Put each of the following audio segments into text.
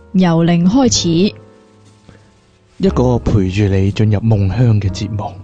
由零開始， 一個陪住你進入夢鄉嘅節目。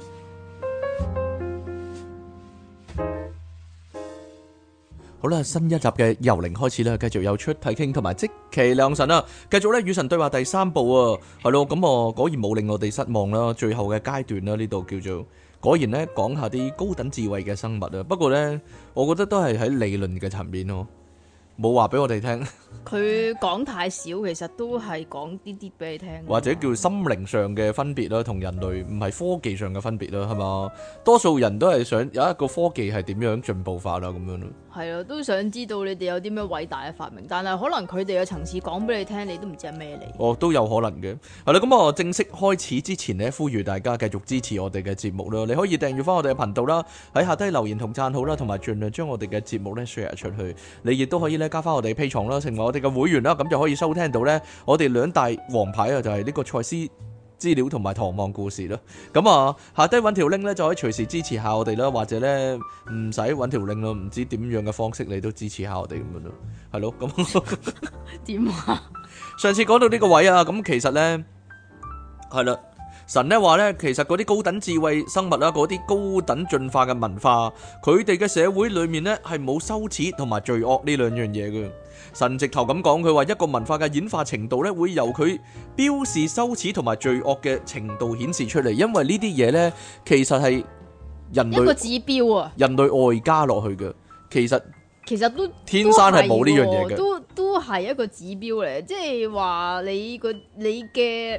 好啦，新一集嘅由零開始啦，繼續有出體傾同埋即其兩神啦，繼續咧與神對話第三部啊，係咯，咁我果然冇令我哋失望啦，最後嘅階段啦，呢度叫做果然咧講下啲高等智慧嘅生物啊，不過咧我覺得都係喺理論嘅層面咯，冇話俾我哋聽。 佢講太少，其實都係講啲啲俾你聽， 或者叫心靈上嘅分別啦，同人類唔係科技上嘅分別啦，係嘛？多數人都係想有一個科技係點樣進步法啦，咁樣咯。 係咯，都想知道你哋有啲咩偉大嘅發明，但係可能佢哋嘅層次講俾你聽，你都唔知係咩嚟。 哦，都有可能嘅。係啦，咁我正式開始之前呢，呼籲大家繼續支持我哋嘅節目啦。你可以訂閱翻我哋嘅頻道啦，喺下低留言同讚好啦，同埋盡量將我哋嘅節目咧 share 出去。你亦都可以咧加翻我哋 Patreon啦，成為我哋嘅會員啦，咁就可以收聽到咧我哋兩大王牌啊，就係呢個賽斯資料同埋唐望故事啦。咁啊，下低揾條 link 咧就可以隨時支持下我哋啦，或者咧唔使揾條 link 咯，唔知點樣嘅方式你都支持下我哋咁樣咯，係咯。咁點啊？ 上次講到呢個位啊，咁其實咧係啦，神咧話咧，其實嗰啲高等智慧生物啦，嗰啲高等進化嘅文化，佢哋嘅社會裏面咧係冇羞恥同埋罪惡呢兩樣嘢嘅。神直頭咁講，佢話一個文化嘅演化程度咧，會由佢標示羞恥同埋罪惡嘅程度顯示出嚟，因為呢啲嘢咧，其實係人類一個指標啊， 人類外加落去嘅，其實都天生係冇呢樣嘢嘅， 都係一個指標嚟，即係話你嘅，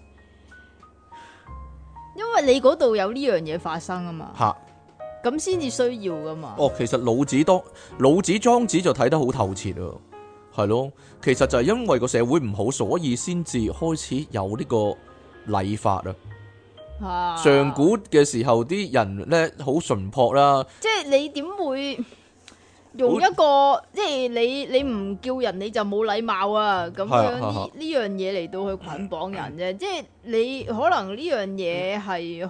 因為你嗰度有呢樣嘢發生啊嘛， 吓， 咁先至需要噶嘛。 哦，其實老子莊子就睇得好透徹啊。係咯，其實就係因為個社會唔好，所以先至開始有呢個禮法啊。上古嘅時候啲人咧好淳樸啦， 即係你點會用一個即係你唔叫人你就冇禮貌啊咁樣呢樣嘢嚟到去捆綁人啫，即係你可能呢樣嘢係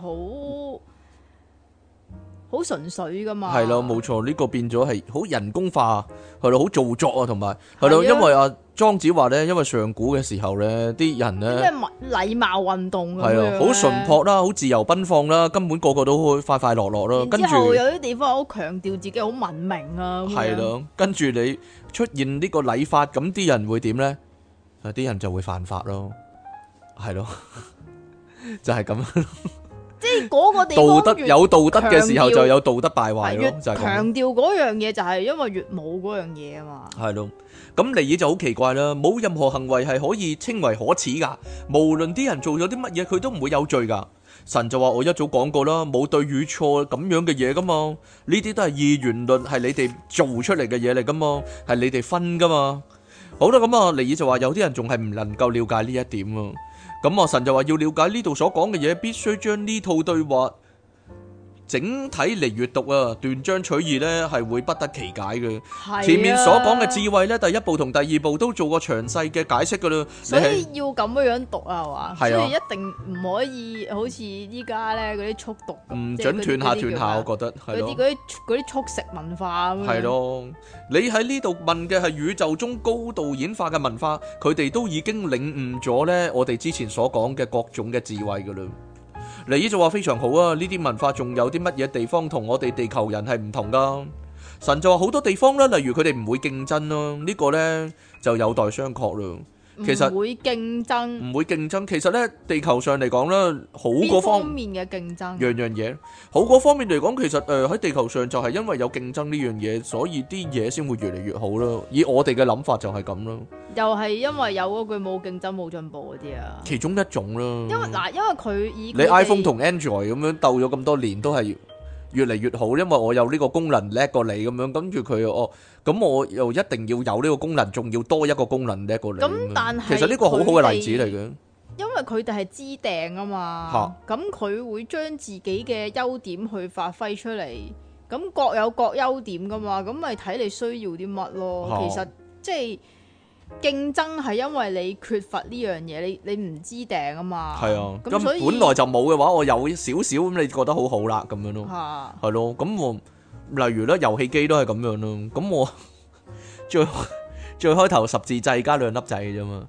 好純粹噶嘛。 係咯，冇錯，呢個變咗係好人工化，係咯，好做作啊，同埋係咯，因為阿莊子話咧，因為上古嘅時候咧，啲人咧咩禮貌運動咁樣， 係啊，好淳樸啦，好自由奔放啦，根本個個都好快快樂樂啦。跟住有啲地方好強調自己好文明啊。 係咯，跟住你出現呢個禮法，咁啲人會點咧？啲人就會犯法咯，係咯，就係咁樣。 即係嗰個地方有道德嘅時候就有道德敗壞咯，就係咁。 強調嗰樣嘢就係因為越冇嗰樣嘢啊嘛。 係咯，咁尼爾就好奇怪啦，冇任何行為係可以稱為可恥噶，無論啲人做咗啲乜嘢，佢都唔會有罪噶。神就話我一早講過啦，冇對與錯咁樣嘅嘢噶嘛，呢啲都係二元論，係你哋做出嚟嘅嘢嚟噶嘛，係你哋分噶嘛。好啦，咁啊，尼爾就話有啲人仲係唔能夠了解呢一點啊。咁啊，神就話要了解呢度所講嘅嘢，必須將呢套對話整體嚟閱讀啊，斷章取義呢係會不得其解嘅。前面所講嘅智慧呢，第一步同第二步都做過詳細嘅解釋噶啦。 所以要咁樣讀啊，係嘛？ 係啊， 所以一定唔可以好似依家咧嗰啲速讀， 唔准斷下，我覺得係咯。 嗰啲速食文化咁樣。係咯，你喺呢度問嘅係宇宙中高度演化嘅文化，佢哋都已經領悟咗呢我哋之前所講嘅各種嘅智慧噶啦。尼爾就話非常好啊，呢啲文化仲有啲乜嘢地方同我哋地球人係唔同噶？神就話好多地方啦，例如佢哋唔會競爭咯，呢個呢就有待商榷啦。其實唔會競爭， 唔會競爭。其實呢，地球上嚟講咧，好嗰方面嘅競爭， 樣樣嘢好嗰方面嚟講，其實喺地球上就係因為有競爭呢樣嘢，所以啲嘢先會越嚟越好咯。以我哋嘅諗法就係咁咯。 又係因為有嗰句冇競爭冇進步嗰啲啊， 其中一種啦。 因為佢以你 iPhone 同 Android 咁樣鬥咗咁多年，都係越嚟越好，因為我有呢個功能叻過你咁樣，跟住佢咁我又一定要有呢個功能，仲要多一個功能叻過你。 咁但係其實呢個好好嘅例子嚟嘅， 因為佢哋係知訂啊嘛，咁佢會將自己嘅優點去發揮出嚟，咁各有各優點噶嘛，咁咪睇你需要啲乜咯。其實即係競爭係因為你缺乏呢樣嘢，你唔知訂啊嘛。 係啊， 咁所以本來就冇嘅話，我有少少咁，你覺得好好啦咁樣咯。係咯，咁我例如咧遊戲機都係咁樣咯。咁我最開頭十字掣加兩粒掣嘅啫嘛。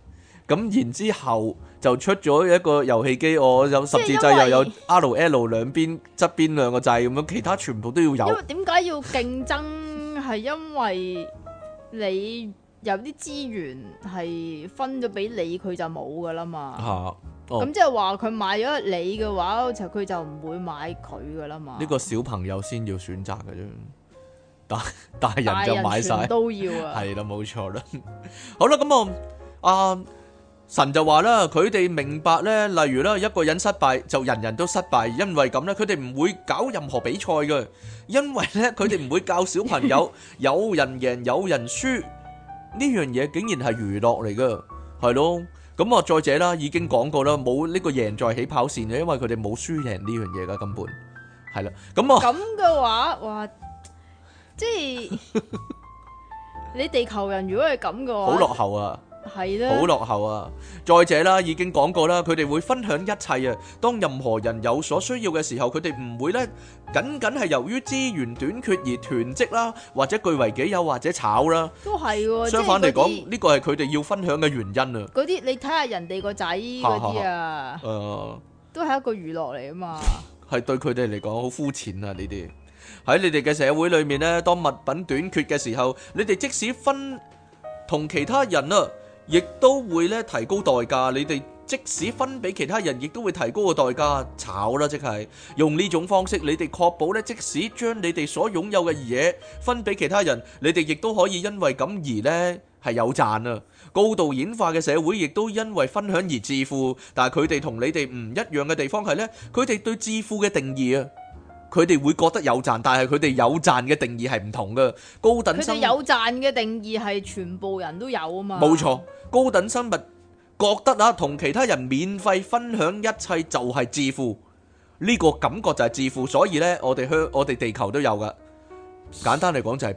咁然之後就出咗一個遊戲機，我有十字掣又有 RL 兩邊側邊兩個掣咁樣，其他全部都要有。 因為點解要競爭？係因為你有啲資源係分咗俾你，佢就冇噶啦嘛。咁即係話佢買咗你嘅話，佢就唔會買佢噶啦嘛。 呢個小朋友先要選擇嘅啫，大人就買晒都要啊。 係啦，冇錯啦。好啦，咁神就話啦，佢哋明白咧，例如啦，一個人失敗就人人都失敗，因為咁咧，佢哋唔會搞任何比賽嘅，因為咧佢哋唔會教小朋友有人贏有人輸呢樣嘢，竟然係娛樂嚟噶，係咯。咁再者啦，已經講過啦，冇呢個贏在起跑線嘅，因為佢哋冇輸贏呢樣嘢噶，根本係啦。咁嘅話，哇，即係你地球人如果係咁嘅話， 好落後啊！ 係啦， 好落後啊！再者啦，已經講過啦，佢哋會分享一切啊。當任何人有所需要嘅時候，佢哋唔會咧僅僅係由於資源短缺而囤積啦，或者據為己有，或者炒啦。 都係喎。 相反嚟講，呢個係佢哋要分享嘅原因啊。 嗰啲你睇下人哋個仔嗰啲啊，都係一個娛樂嚟啊嘛。 係對佢哋嚟講好膚淺啊！呢啲喺你哋嘅社會裏面咧，當物品短缺嘅時候，你哋即使分同其他人啊，亦都會咧提高代價，你哋即使分俾其他人，亦都會提高個代價，炒啦，即係用呢種方式，你哋確保咧，即使將你哋所擁有嘅嘢分俾其他人，你哋亦都可以因為咁而咧係有賺啊！高度演化嘅社會亦都因為分享而致富，但係佢哋同你哋唔一樣嘅地方係咧，佢哋對致富嘅定義啊。佢哋會覺得有賺，但係佢哋有賺嘅定義係唔同嘅。高等生物，佢哋有賺嘅定義係全部人都有啊嘛。冇錯，高等生物覺得啊，同其他人免費分享一切就係致富，呢個感覺就係致富。所以呢，我哋地球都有噶。簡單嚟講就係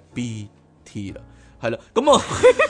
BT 啦，係啦，咁啊，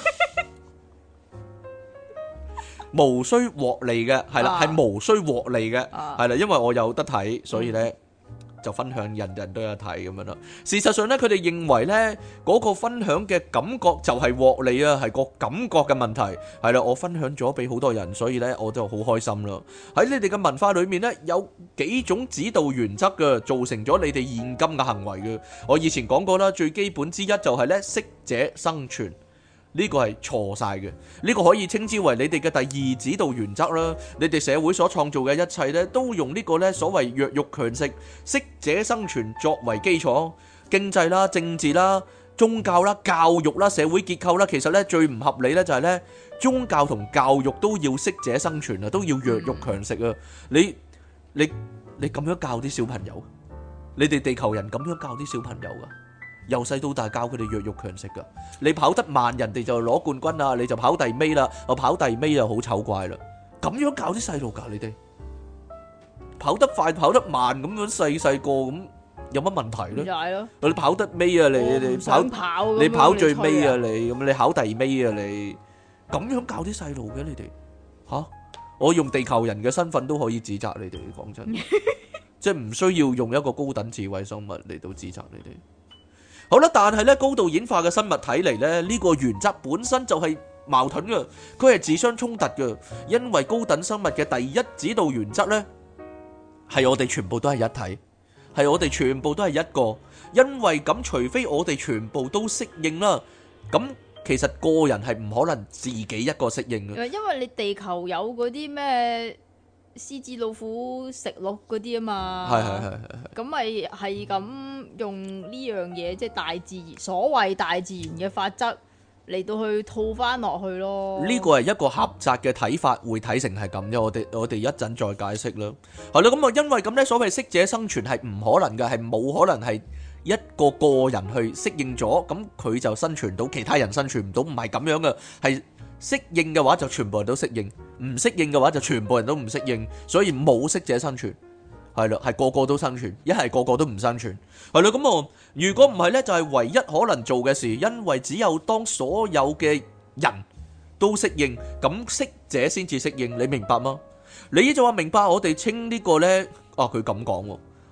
無需獲利嘅，係啦，係無需獲利嘅，係啦，因為我有得睇，所以呢。就分享，人人都有睇咁樣啦。事實上咧，佢哋認為咧嗰個分享嘅感覺就係獲利啊，係個感覺嘅問題。係啦，我分享咗俾好多人，所以咧我就好開心啦。喺你哋嘅文化裏面咧，有幾種指導原則嘅，造成咗你哋現今嘅行為嘅。我以前講過啦，最基本之一就係咧適者生存。呢個係錯晒嘅，呢個可以稱之為你哋嘅第二指導原則啦。你哋社會所創造嘅一切咧，都用呢個咧所謂弱肉強食、適者生存作為基礎。經濟啦、政治啦、宗教啦、教育啦、社會結構啦，其實咧最唔合理咧就係咧宗教同教育都要適者生存啊，都要弱肉強食啊！你咁樣教啲小朋友，你哋地球人咁樣教啲小朋友噶？由細到大教佢哋弱肉強食噶，你跑得慢，人哋就攞冠軍啦，你就跑第尾啦，我跑第尾就好醜怪啦。咁樣教啲細路噶，你哋跑得快跑得慢咁樣細個咁有乜問題咧？點解咯？你跑得尾啊，你跑最尾啊，你考第尾啊，你咁樣教啲細路嘅你哋吓？我用地球人嘅身份都可以指責你哋，講真，即係唔需要用一個高等智慧生物嚟到指責你哋。好啦，但係咧高度演化嘅生物睇嚟咧，呢個原則本身就係矛盾嘅，佢係自相衝突嘅。因為高等生物嘅第一指導原則咧，係我哋全部都係一體，係我哋全部都係一個。因為咁，除非我哋全部都適應啦，咁其實個人係唔可能自己一個適應嘅。 因為你地球有嗰啲咩獅子老虎食鹿嗰啲啊嘛，係，咁咪係咁用呢樣嘢，即係大自然所謂大自然嘅法則嚟到去套翻落去咯。呢個係一個狹窄嘅睇法，會睇成係咁啫。我哋一陣再解釋啦。係啦，咁啊，因為咁咧，所謂適者生存係唔可能嘅，係冇可能係一個個人去適應咗，咁佢就生存到，其他人生存唔到，唔係咁樣嘅，係。適應嘅話就全部人都適應，唔適應嘅話就全部人都唔適應，所以冇適者生存，係啦，係個個都生存，一係個個都唔生存，係啦，咁啊，如果唔係呢，就係唯一可能做嘅事，因為只有當所有嘅人都適應，咁適者先至適應，你明白嗎？你就話明白，我哋稱呢個呢，佢咁講喎，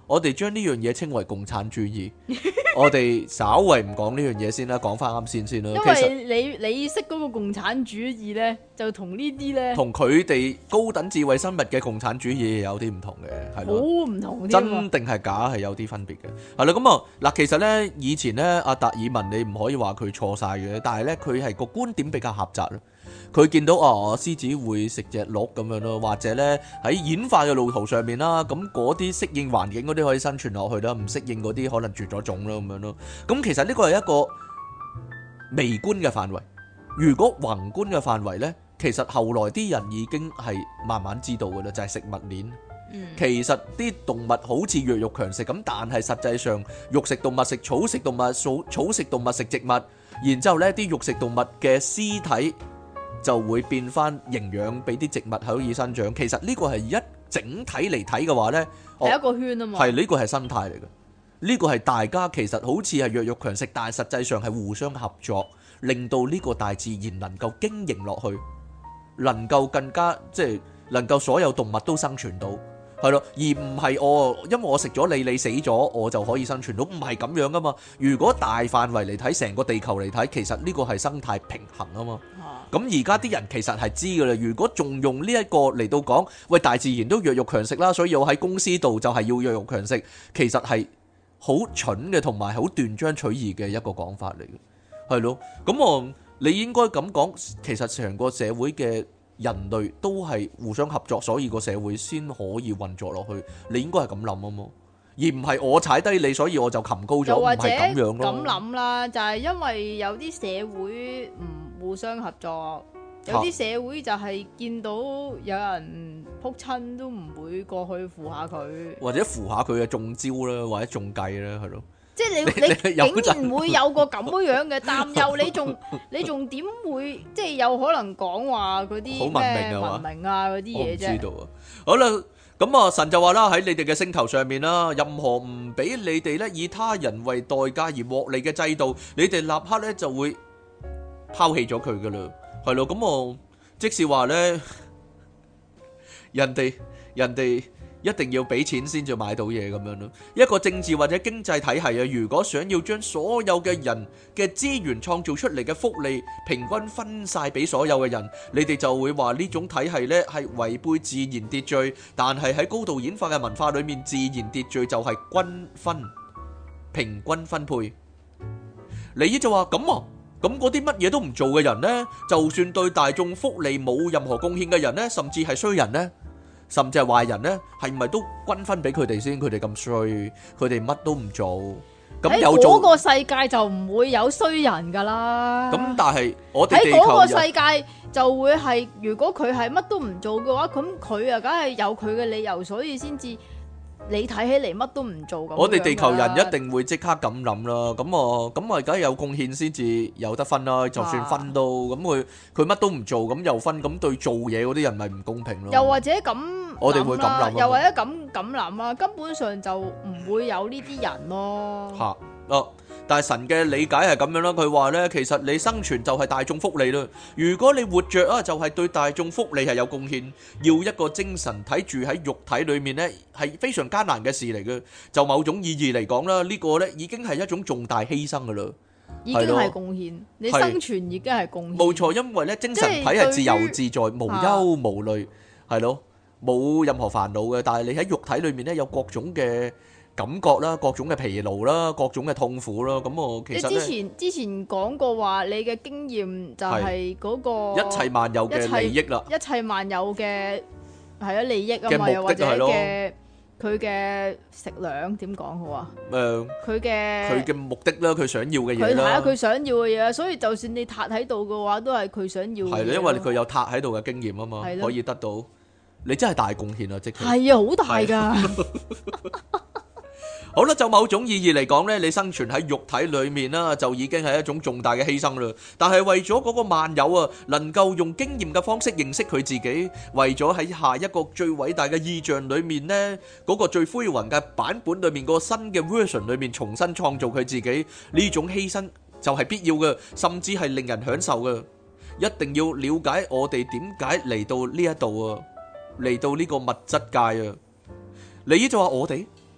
我哋將呢樣嘢稱為共產主義。我哋稍為唔講呢樣嘢先啦，講翻啱先啦。 因為你識嗰個共產主義咧，就同呢啲咧， 同佢哋高等智慧生物嘅共產主義有啲唔同嘅，係咯， 好唔同添啊。 真定係假係有啲分別嘅，係啦。咁啊嗱，其實咧以前咧阿達爾文你唔可以話佢錯晒嘅，但係咧佢係個觀點比較狹窄咯。佢見到獅子會食隻鹿咁樣咯，或者咧喺演化嘅路途上面啦，咁嗰啲適應環境嗰啲可以生存落去啦，唔適應嗰啲可能絕咗種啦咁樣咯。咁其實呢個係一個微觀嘅範圍，如果宏觀嘅範圍呢，其實後來啲人已經係慢慢知道嘅啦，就係食物鏈。其實啲動物好似弱肉強食咁，但係實際上肉食動物食草食動物，草食動物食植物，然之後呢啲肉食動物嘅屍體就會變翻營養俾啲植物可以生長。其實呢個係一整體嚟睇嘅話呢， 係一個圈啊嘛。 係呢個係生態嚟嘅，呢個係大家其實好似係弱肉強食，但係實際上係互相合作，令到呢個大自然能夠經營落去，能夠更加即係能夠所有動物都生存到。係咯，而唔係因為我食咗你死咗，我就可以生存到，唔係咁樣噶嘛。如果大範圍嚟睇，成個地球嚟睇，其實呢個係生態平衡啊嘛。咁而家啲人其實係知噶啦，如果仲用呢一個嚟到講，喂，大自然都弱肉強食啦，所以我喺公司度就係要弱肉強食，其實係好蠢嘅，同埋好斷章取義嘅一個講法嚟嘅，係咯。咁你應該咁講，其實成個社會嘅人類都係互相合作，所以個社會先可以運作落去。你應該係咁諗啊嘛，而唔係我踩低你，所以我就擒高咗，唔係咁樣咯。 咁諗啦，就係因為有啲社會唔互相合作，有啲社會就係見到有人撲親都唔會過去扶下佢，或者扶下佢嘅中招啦，或者中計啦，係咯。 即係你竟然會有個咁樣嘅擔憂，你仲點會即係有可能講話嗰啲咩文明啊嗰啲嘢啫？我唔知道啊。 好啦，咁神就話啦，喺你哋嘅星球上面啦，任何唔俾你哋咧以他人為代價而獲利嘅制度，你哋立刻咧就會拋棄咗佢噶啦，係咯。咁即是話咧，人哋一定要俾錢先至買到嘢咁樣咯。一個政治或者經濟體系啊，如果想要將所有嘅人嘅資源創造出嚟嘅福利平均分晒俾所有嘅人，你哋就會話呢種體系呢係違背自然秩序。但係喺高度演化嘅文化裏面，自然秩序就係均分、平均分配。尼爾就話咁咁嗰啲乜嘢都唔做嘅人呢，就算對大眾福利冇任何貢獻嘅人呢，甚至係衰人呢，甚至係壞人呢，係咪都均分俾佢哋先？佢哋咁衰，佢哋乜都唔做，咁有做， 喺嗰個世界就唔會有衰人噶啦。 咁但係我哋喺嗰個世界就會係，如果佢係乜都唔做嘅話，咁佢啊梗係有佢嘅理由，所以先至你睇起嚟乜都唔做咁。 我哋地球人一定會即刻咁諗啦。咁梗係有貢獻先至有得分啦。就算分都咁，佢乜都唔做咁又分，咁對做嘢嗰啲人咪唔公平咯。 又或者咁。 我哋會咁諗， 又或者咁諗啦，根本上就唔會有呢啲人咯。 但係神嘅理解係咁樣啦，佢話呢，其實你生存就係大眾福利啦。如果你活着啊，就係對大眾福利係有貢獻。要一個精神體住喺肉體裏面呢，係非常艱難嘅事嚟嘅。就某種意義嚟講啦，呢個呢已經係一種重大犧牲噶啦， 已經係貢獻。你生存已經係貢獻。 冇錯，因為呢精神體係自由自在、無憂無慮，係咯。冇任何煩惱嘅，但係你喺肉體裏面咧有各種嘅感覺啦，各種嘅疲勞啦，各種嘅痛苦啦。咁我其實你之前講過話，你嘅經驗就係嗰個一切萬有嘅利益啦， 一切萬有嘅係啊利益啊嘛，又或者嘅佢嘅食糧點講好啊？佢嘅目的啦，佢想要嘅嘢啦， 佢係啊，佢想要嘅嘢，所以就算你塌喺度嘅話，都係佢想要嘅嘢。 係啦，因為佢有塌喺度嘅經驗啊嘛，可以得到。你真係大貢獻啊！即係係啊，好大噶。 好啦，就某種意義嚟講呢，你生存喺肉體裏面啦，就已經係一種重大嘅犧牲啦。但係為咗嗰個萬有啊，能夠用經驗嘅方式認識佢自己，為咗喺下一個最偉大嘅意象裏面呢，嗰個最輝煌嘅版本裏面個新嘅 version 裏面重新創造佢自己，呢種犧牲就係必要嘅，甚至係令人享受嘅。一定要了解我哋點解嚟到呢一度啊！嚟到呢個物質界啊，你就話我哋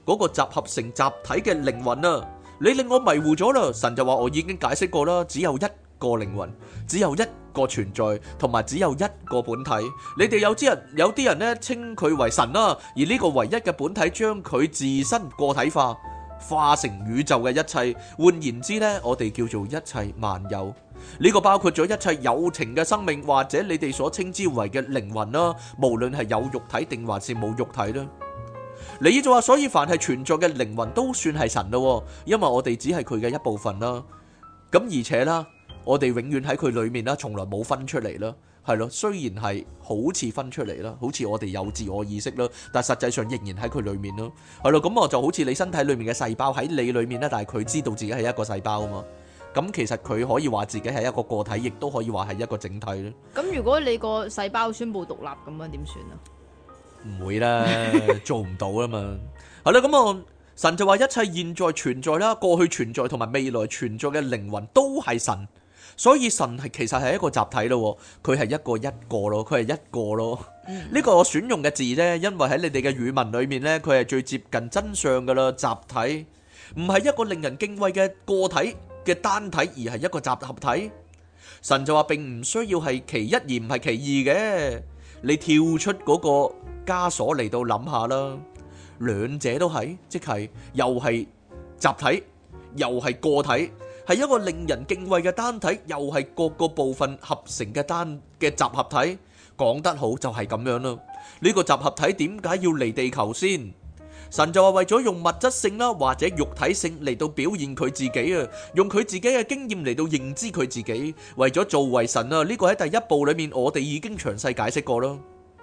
嗰個集合成集體嘅靈魂啊！你令我迷糊咗啦。神就話我已經解釋過啦，只有一個靈魂，只有一個存在，同埋只有一個本體。你哋有啲人呢稱佢為神啦，而呢個唯一嘅本體將佢自身個體化，化成宇宙嘅一切。換言之呢，我哋叫做一切萬有。呢個包括咗一切有情嘅生命，或者你哋所稱之為嘅靈魂啦，無論係有肉體定還是冇肉體啦。尼爾就話，所以凡係存在嘅靈魂都算係神咯，因為我哋只係佢嘅一部分啦。咁而且啦，我哋永遠喺佢裏面啦，從來冇分出嚟啦，係咯。雖然係好似分出嚟啦，好似我哋有自我意識啦，但係實際上仍然喺佢裏面咯，係咯。咁我就好似你身體裏面嘅細胞喺你裏面啦，但係佢知道自己係一個細胞啊嘛。咁其實佢可以話自己係一個個體，亦都可以話係一個整體咧。咁如果你個細胞宣布獨立咁樣點算啊？ 唔會啦，做唔到啊嘛。係啦，咁啊，神就話一切現在存在啦、過去存在同埋未來存在嘅靈魂都係神，所以神係其實係一個集體咯，佢係一個咯，佢係一個咯。呢個我選用嘅字呢，因為喺你哋嘅語文裏面呢，佢係最接近真相噶啦。集體唔係一個令人敬畏嘅個體嘅單體，而係一個集合體。神就話並唔需要係其一而唔係其二嘅。你跳出嗰個枷鎖嚟到諗下啦，兩者都係，即係又係集體，又係個體，係一個令人敬畏嘅單體，又係各個部分合成嘅集合體。講得好就係咁樣啦。呢個集合體點解要嚟地球先？神就話為咗用物質性啦，或者肉體性嚟到表現佢自己啊，用佢自己嘅經驗嚟到認知佢自己，為咗做為神啊。呢個喺第一部裏面我哋已經詳細解釋過啦。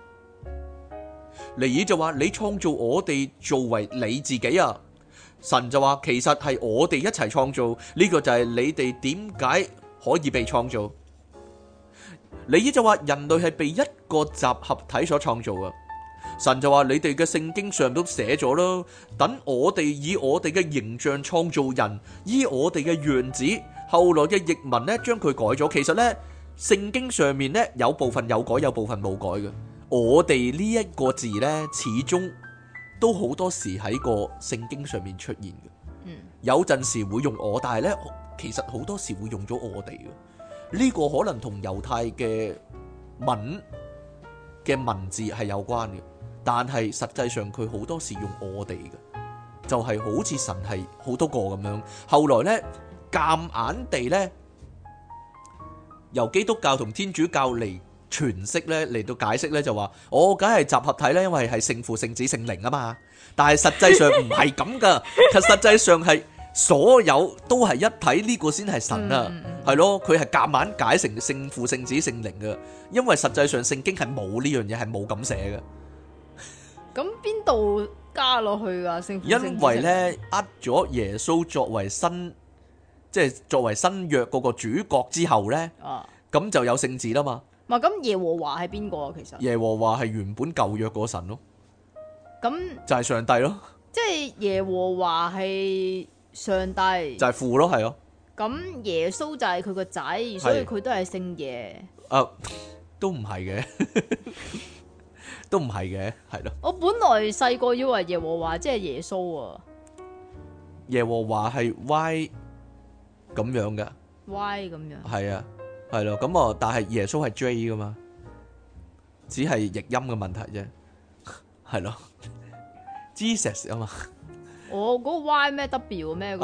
尼爾就話你創造我哋做為你自己啊，神就話其實係我哋一齊創造，呢個就係你哋點解可以被創造。尼爾就話人類係被一個集合體所創造啊。神就話你哋嘅聖經上都寫咗啦，等我哋以我哋嘅形象創造人，依我哋嘅樣子。後來嘅譯文呢將佢改咗，其實呢聖經上面呢有部分有改，有部分冇改嘅。我哋呢一個字呢始終都好多時喺個聖經上面出現嘅。有陣時會用我，但係呢其實好多時會用咗我哋嘅。呢個可能同猶太嘅文字係有關嘅。但係實際上佢好多時用我哋嘅，就係好似神係好多個咁樣。後來呢，夾硬地呢，由基督教同天主教嚟詮釋呢，嚟到解釋呢，就話我梗係集合體呢，因為係聖父、聖子、聖靈啊嘛。但係實際上唔係咁噶，其實實際上係所有都係一體，呢個先係神啊，係咯。佢係夾硬解成聖父、聖子、聖靈嘅，因為實際上聖經係冇呢樣嘢，係冇咁寫嘅。 咁邊度加落去噶？ 因為咧，咗耶穌作為新約嗰個主角之後咧，咁就有聖子啦嘛。 咁耶和華係邊個啊？其實耶和華係原本舊約嗰神咯。 咁就係上帝咯。即係耶和華係上帝， 就係父咯，係咯。咁耶穌就係佢個仔，所以佢都係聖耶。 都唔係嘅。都唔係嘅，係咯。我本來細個以為耶和華即係耶穌啊。 耶和華係 Y 咁樣嘅。 Y 咁樣。係啊，係咯。咁啊，但係耶穌係 J 噶嘛，只係譯音嘅問題啫。係咯。Jesus 啊嘛。嗰個 Y 咩 W 咩？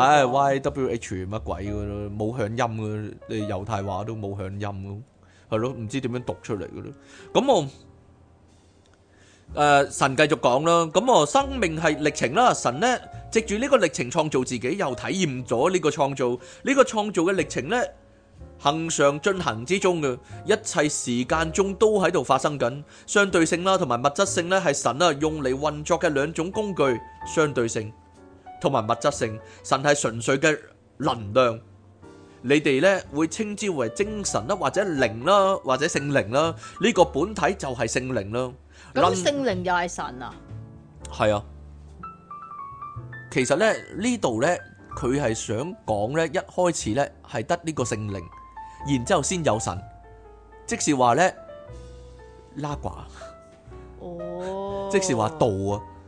YWH 乜鬼噶咯，冇響音噶。你猶太話都冇響音噶，係咯，唔知點樣讀出嚟噶咯。咁我。神繼續講啦，咁我生命係歷程啦，神呢藉住呢個歷程創造自己，又體驗咗呢個創造，呢個創造嘅歷程呢恆常進行之中嘅一切時間中都喺度發生緊。相對性啦同埋物質性呢係神啊用嚟運作嘅兩種工具，相對性同埋物質性。神係純粹嘅能量，你哋呢會稱之為精神啦，或者靈啦，或者聖靈啦，呢個本體就係聖靈啦。 咁聖靈又係神啊？ 係啊，其實咧呢度咧佢係想講咧，一開始咧係得呢個聖靈，然之後先有神，即是話咧拉掛，即是話道啊，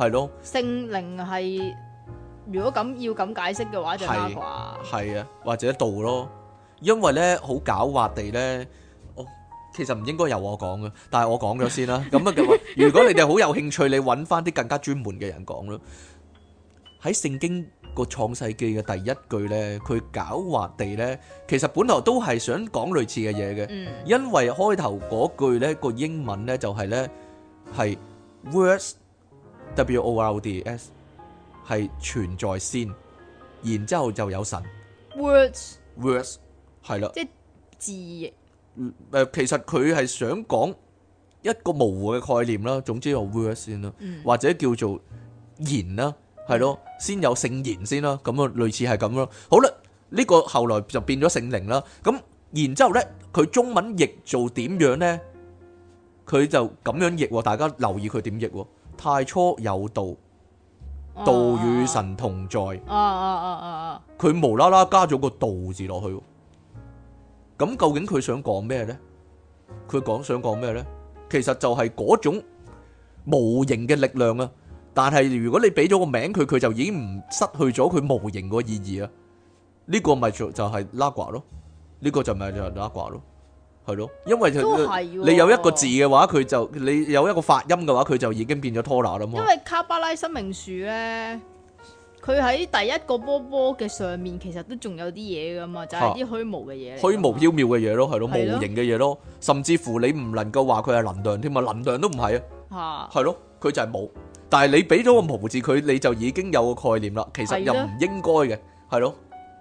係咯， 聖靈係如果咁要咁解釋嘅話就啦啩， 係啊，或者道咯，因為咧好狡猾地咧，其實唔應該由我講嘅，但係我講咗先啦。咁啊嘅話，如果你哋好有興趣，你揾翻啲更加專門嘅人講咯。喺聖經個創世記嘅第一句咧，佢狡猾地咧，其實本來都係想講類似嘅嘢嘅，因為開頭嗰句咧個英文咧就係咧係 words words 係存在先，然之後就有神 words 係啦， 即係字。 其實佢係想講一個模糊嘅概念啦，總之有 word 先啦，或者叫做言啦，係咯，先有聖言先啦，咁啊類似係咁咯。好啦，呢個後來就變咗聖靈啦。咁然之後咧，佢中文譯做點樣咧？佢就咁樣譯，大家留意佢點譯。太初有道，道與神同在。佢無啦啦加咗個道字落去。咁究竟佢想講咩呢？佢想講咩呢？其實就係嗰種無形嘅力量啊！但係如果你俾咗個名佢就已經唔失去咗佢無形個意義啊！呢個咪就係拉呱咯，呢個就咪就係拉呱咯，係咯，因為你有一個字嘅話，你有一個發音嘅話，佢就已經變咗拖拿啦嘛。 因為卡巴拉生命樹呢。佢喺第一個波波嘅上面，其實都仲有啲嘢噶嘛，就係啲虛無嘅嘢嚟。虛無縹緲嘅嘢咯，係咯，無形嘅嘢咯，甚至乎你唔能夠話佢係能量添啊，能量都唔係啊，係咯，佢就係冇。但係你俾咗個無字佢，你就已經有個概念啦。其實又唔應該嘅，係咯。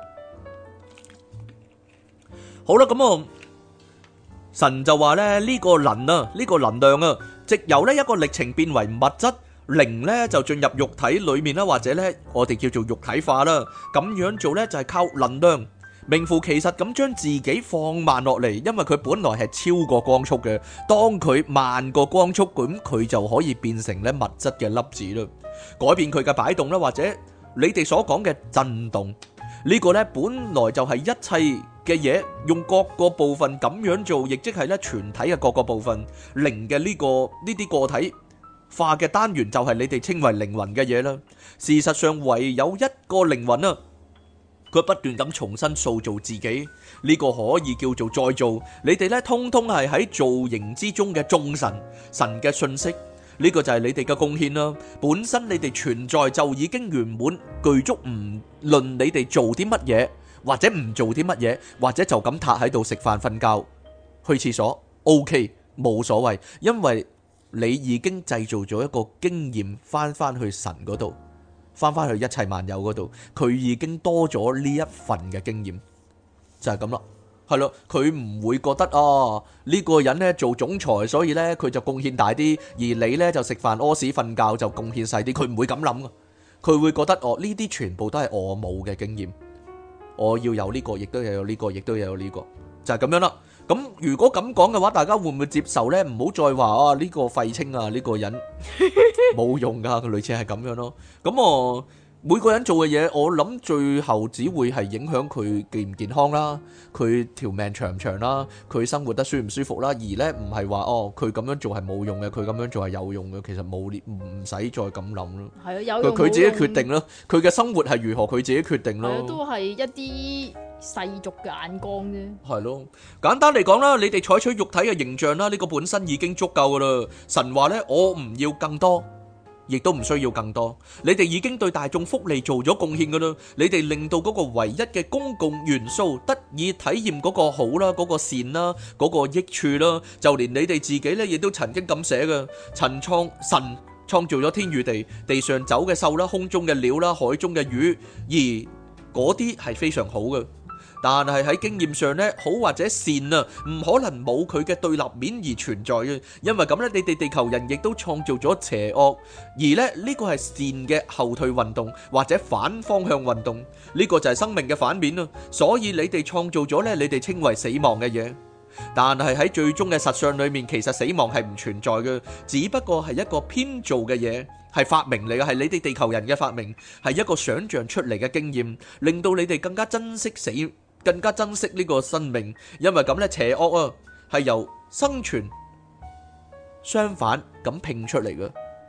好啦，咁啊，神就話咧呢個能量啊，藉由呢一個歷程變為物質。靈咧就進入肉體裏面啦，或者咧我哋叫做肉體化啦。咁樣做咧就係靠能量，名副其實咁將自己放慢落嚟，因為佢本來係超過光速嘅。當佢慢過光速，咁佢就可以變成咧物質嘅粒子啦，改變佢嘅擺動啦，或者你哋所講嘅震動。呢個咧本來就係一切嘅嘢，用各個部分咁樣做，亦即係咧全體嘅各個部分靈嘅呢啲個體化嘅單元就係你哋稱為靈魂嘅嘢啦。事實上唯有一個靈魂啊，佢不斷咁重新塑造自己，呢個可以叫做再造。你哋咧通通係喺造型之中嘅眾神嘅信息，呢個就係你哋嘅貢獻啦。本身你哋存在就已經圓滿具足，唔論你哋做啲乜嘢，或者唔做啲乜嘢，或者就咁塌喺度食飯瞓覺去廁所 OK 冇所謂，因為你已經製造咗一個經驗，翻去神嗰度，翻去一切萬有嗰度，佢已經多咗呢一份嘅經驗，就係咁啦，係咯，佢唔會覺得呢個人呢做總裁，所以呢佢就貢獻大啲，而你呢就食飯屙屎瞓覺就貢獻細啲，佢唔會咁諗啊，佢會覺得呢啲全部都係我冇嘅經驗，我要有呢個，亦都要有呢個，亦都要有呢個，就係咁樣啦。咁如果咁講嘅話，大家會唔會接受呢？唔好再話呢個廢青啊，呢個人冇用噶，佢類似係咁樣咯。咁每個人做嘅嘢，我諗最後只會係影響佢健唔健康啦，佢條命長唔長啦，佢生活得舒唔舒服啦。而呢唔係話佢咁樣做係冇用嘅，佢咁樣做係有用嘅。其實唔使再咁諗咯。係啊，有用佢自己決定咯。佢嘅生活係如何，佢自己決定咯。係啊，都係一啲世俗嘅眼光啫。係咯，簡單嚟講啦，你哋採取肉體嘅形象啦，呢個本身已經足夠噶啦。神話呢，我唔要更多。亦都唔需要更多，你哋已經對大眾福利做咗貢獻噶啦，你哋令到嗰個唯一嘅公共元素得以體驗嗰個好啦，嗰個善啦，嗰個益處啦，就連你哋自己咧，亦都曾經咁寫噶，神創造咗天與地，地上走嘅獸啦，空中嘅鳥啦，海中嘅魚，而嗰啲係非常好嘅。但係喺經驗上咧，好或者善啊，唔可能冇佢嘅對立面而存在嘅，因為咁咧，你哋地球人亦都創造咗邪惡，而咧呢個係善嘅後退運動或者反方向運動，呢個就係生命嘅反面啊，所以你哋創造咗咧，你哋稱為死亡嘅嘢，但係喺最終嘅實相裏面，其實死亡係唔存在嘅，只不過係一個編造嘅嘢，係發明嚟嘅，係你哋地球人嘅發明，係一個想象出嚟嘅經驗，令到你哋更加珍惜更加珍惜呢個生命，因為咁咧，邪惡啊係由生存相反咁拼出嚟嘅，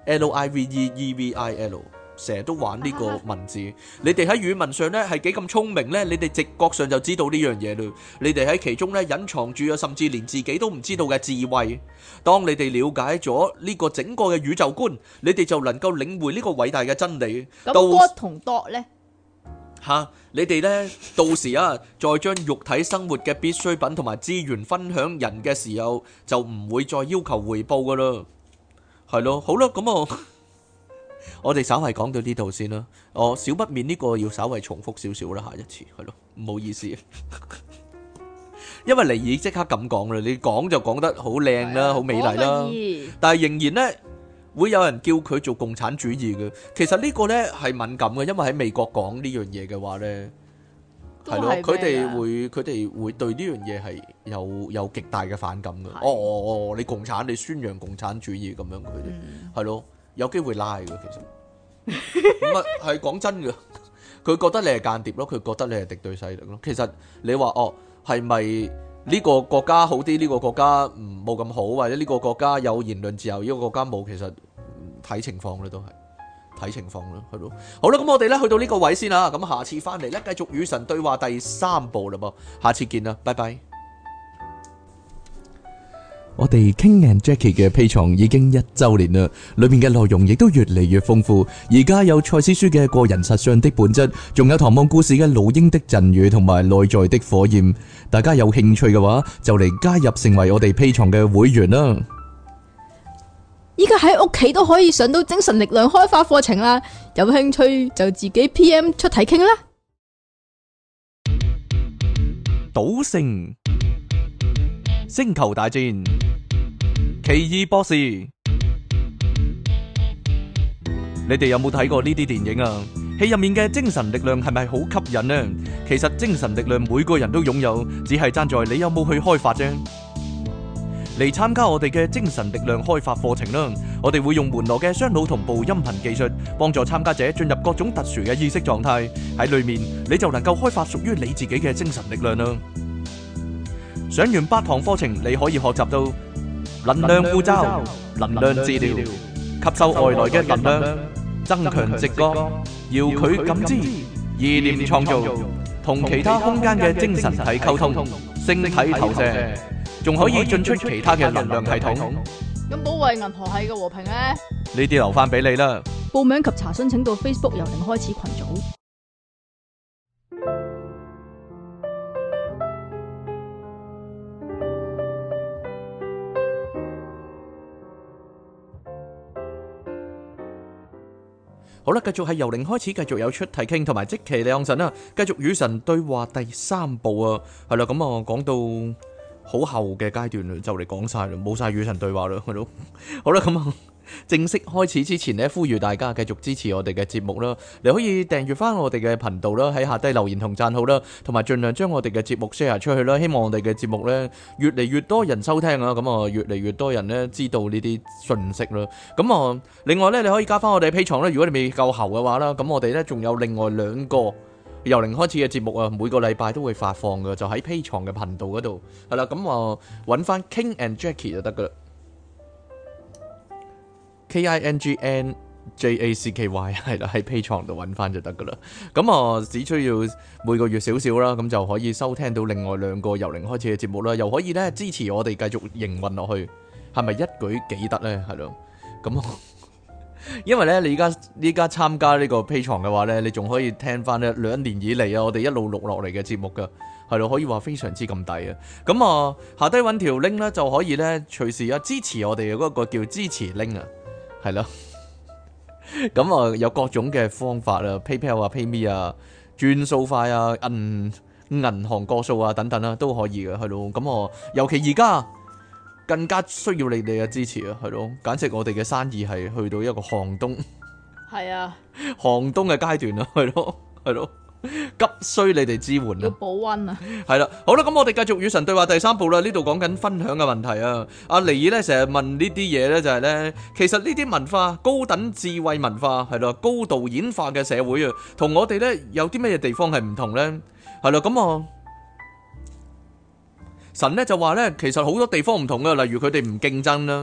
Liveevil，成日都玩呢個文字。你哋喺語文上咧係幾咁聰明咧？你哋直覺上就知道呢樣嘢嘞。你哋喺其中咧隱藏住啊，甚至連自己都唔知道嘅智慧。當你哋了解咗呢個整個嘅宇宙觀，你哋就能夠領會呢個偉大嘅真理。 咁 God 同 dot 咧？ 你哋呢，到時啊，再將肉體生活嘅必需品同埋資源分享人嘅時候，就唔會再要求回報噶啦。係咯，好啦，咁我哋稍微講到呢度先啦。少不免呢個要稍微重複少少啦，下一次係咯，唔好意思。因為尼爾即刻咁講啦，你講就講得好靚啦，好美麗啦，但係仍然呢，會有人叫佢做共產主義嘅。其實呢個呢係敏感嘅，因為喺美國講呢樣嘢嘅話呢，係咯，佢哋會對呢樣嘢係有極大嘅反感嘅。你共產，你宣揚共產主義咁樣，佢哋係咯，有機會拉嘅。其實咁啊，係講真嘅，佢覺得你係間諜咯，佢覺得你係敵對勢力咯。其實你話係咪呢個國家好啲？呢個國家冇咁好，或者呢個國家有言論自由，呢個國家冇？其實睇情況咧，都係睇情況啦，係咯。好啦，咁我哋咧去到呢個位先啦。咁下次翻嚟咧，繼續與神對話第3部啦噃。下次見啦，拜拜。我哋 King and Jackie 嘅 Patreon 已經1週年啦，裏面嘅內容亦都越嚟越豐富。而家有賽斯書嘅個人實相的本質，仲有唐望故事嘅老鷹的贈語同埋內在的火焰。大家有興趣嘅話，就嚟加入成為我哋 Patreon 嘅會員啦。 依家喺屋企都可以上到精神力量開發課程啦，有興趣就自己 PM 出題傾啦。 賭聖、星球大戰、奇異博士，你哋有冇睇過呢啲電影啊？戲入面嘅精神力量係咪好吸引呢？其實精神力量每個人都擁有，只係爭在你有冇去開發啫。嚟參加我哋嘅精神力量開發課程啦！我哋會用門羅嘅雙腦同步音頻技術，幫助參加者進入各種特殊嘅意識狀態。喺裏面你就能夠開發屬於你自己嘅精神力量啦！上完8堂課程，你可以學習到能量護罩、能量治療、吸收外來嘅能量、增強直覺、遙距感知、意念創造、同其他空間嘅精神體溝通、星體投射，仲可以進出其他嘅能量系統。 咁保衛銀河系嘅和平呢？ 呢啲留翻俾你啦。 報名及查詢請到 Facebook 由零開始群組。 好啦，繼續係由零開始，繼續有出題傾同埋即期兩神啦，繼續與神對話第3部啊，係啦，咁啊講到好後嘅階段啦，就嚟講晒啦，冇晒與神對話啦，係咯，好啦，咁啊正式開始之前呢，呼籲大家繼續支持我哋嘅節目啦，你可以訂閱翻我哋嘅頻道啦，喺下低留言同讚好啦，同埋盡量將我哋嘅節目 share 出去啦，希望我哋嘅節目呢越嚟越多人收聽啊，咁啊越嚟越多人呢知道呢啲信息啦，咁啊另外呢，你可以加翻我哋 Patreon啦，如果你未夠喉嘅話啦，咁我哋呢仲有另外2個由零開始嘅節目啊，每個禮拜都會發放嘅，就喺 Patreon 嘅頻道嗰度，係啦，咁啊揾翻 King and Jackie 就得噶啦。KINGNJACKY 係啦，喺 Patreon 度揾翻就得噶啦。咁啊，只需要每個月少少啦，咁就可以收聽到另外2個由零開始嘅節目啦，又可以咧支持我哋繼續營運落去，係咪一舉幾得咧？係咯，咁因為咧你依家參加呢個 Patreon 嘅話咧，你仲可以聽翻咧2年以嚟啊，我哋一路錄落嚟嘅節目噶，係咯，可以話非常之咁抵啊。咁啊，下低揾條 link 咧就可以咧隨時支持我哋嘅嗰個叫支持 link 啊。係咯，咁啊有各種嘅方法啊 ，PayPal 啊、PayMe 啊、轉數快啊、銀行個數啊等等啊都可以嘅，係咯。咁我尤其而家更加需要你哋嘅支持啊，係咯，簡直我哋嘅生意係去到一個寒冬， 係啊， 寒冬嘅階段啊，係咯，係咯。急需你哋支援啊！ 要保溫啊！ 係啦，好啦，咁我哋繼續與神對話第3部啦。呢度講緊分享嘅問題啊。阿尼爾咧成日問呢啲嘢咧，就係咧，其實呢啲文化、高等智慧文化係啦，高度演化嘅社會啊，同我哋咧有啲乜嘢地方係唔同咧？係啦，咁啊，神咧就話咧，其實好多地方唔同啊，例如佢哋唔競爭啦，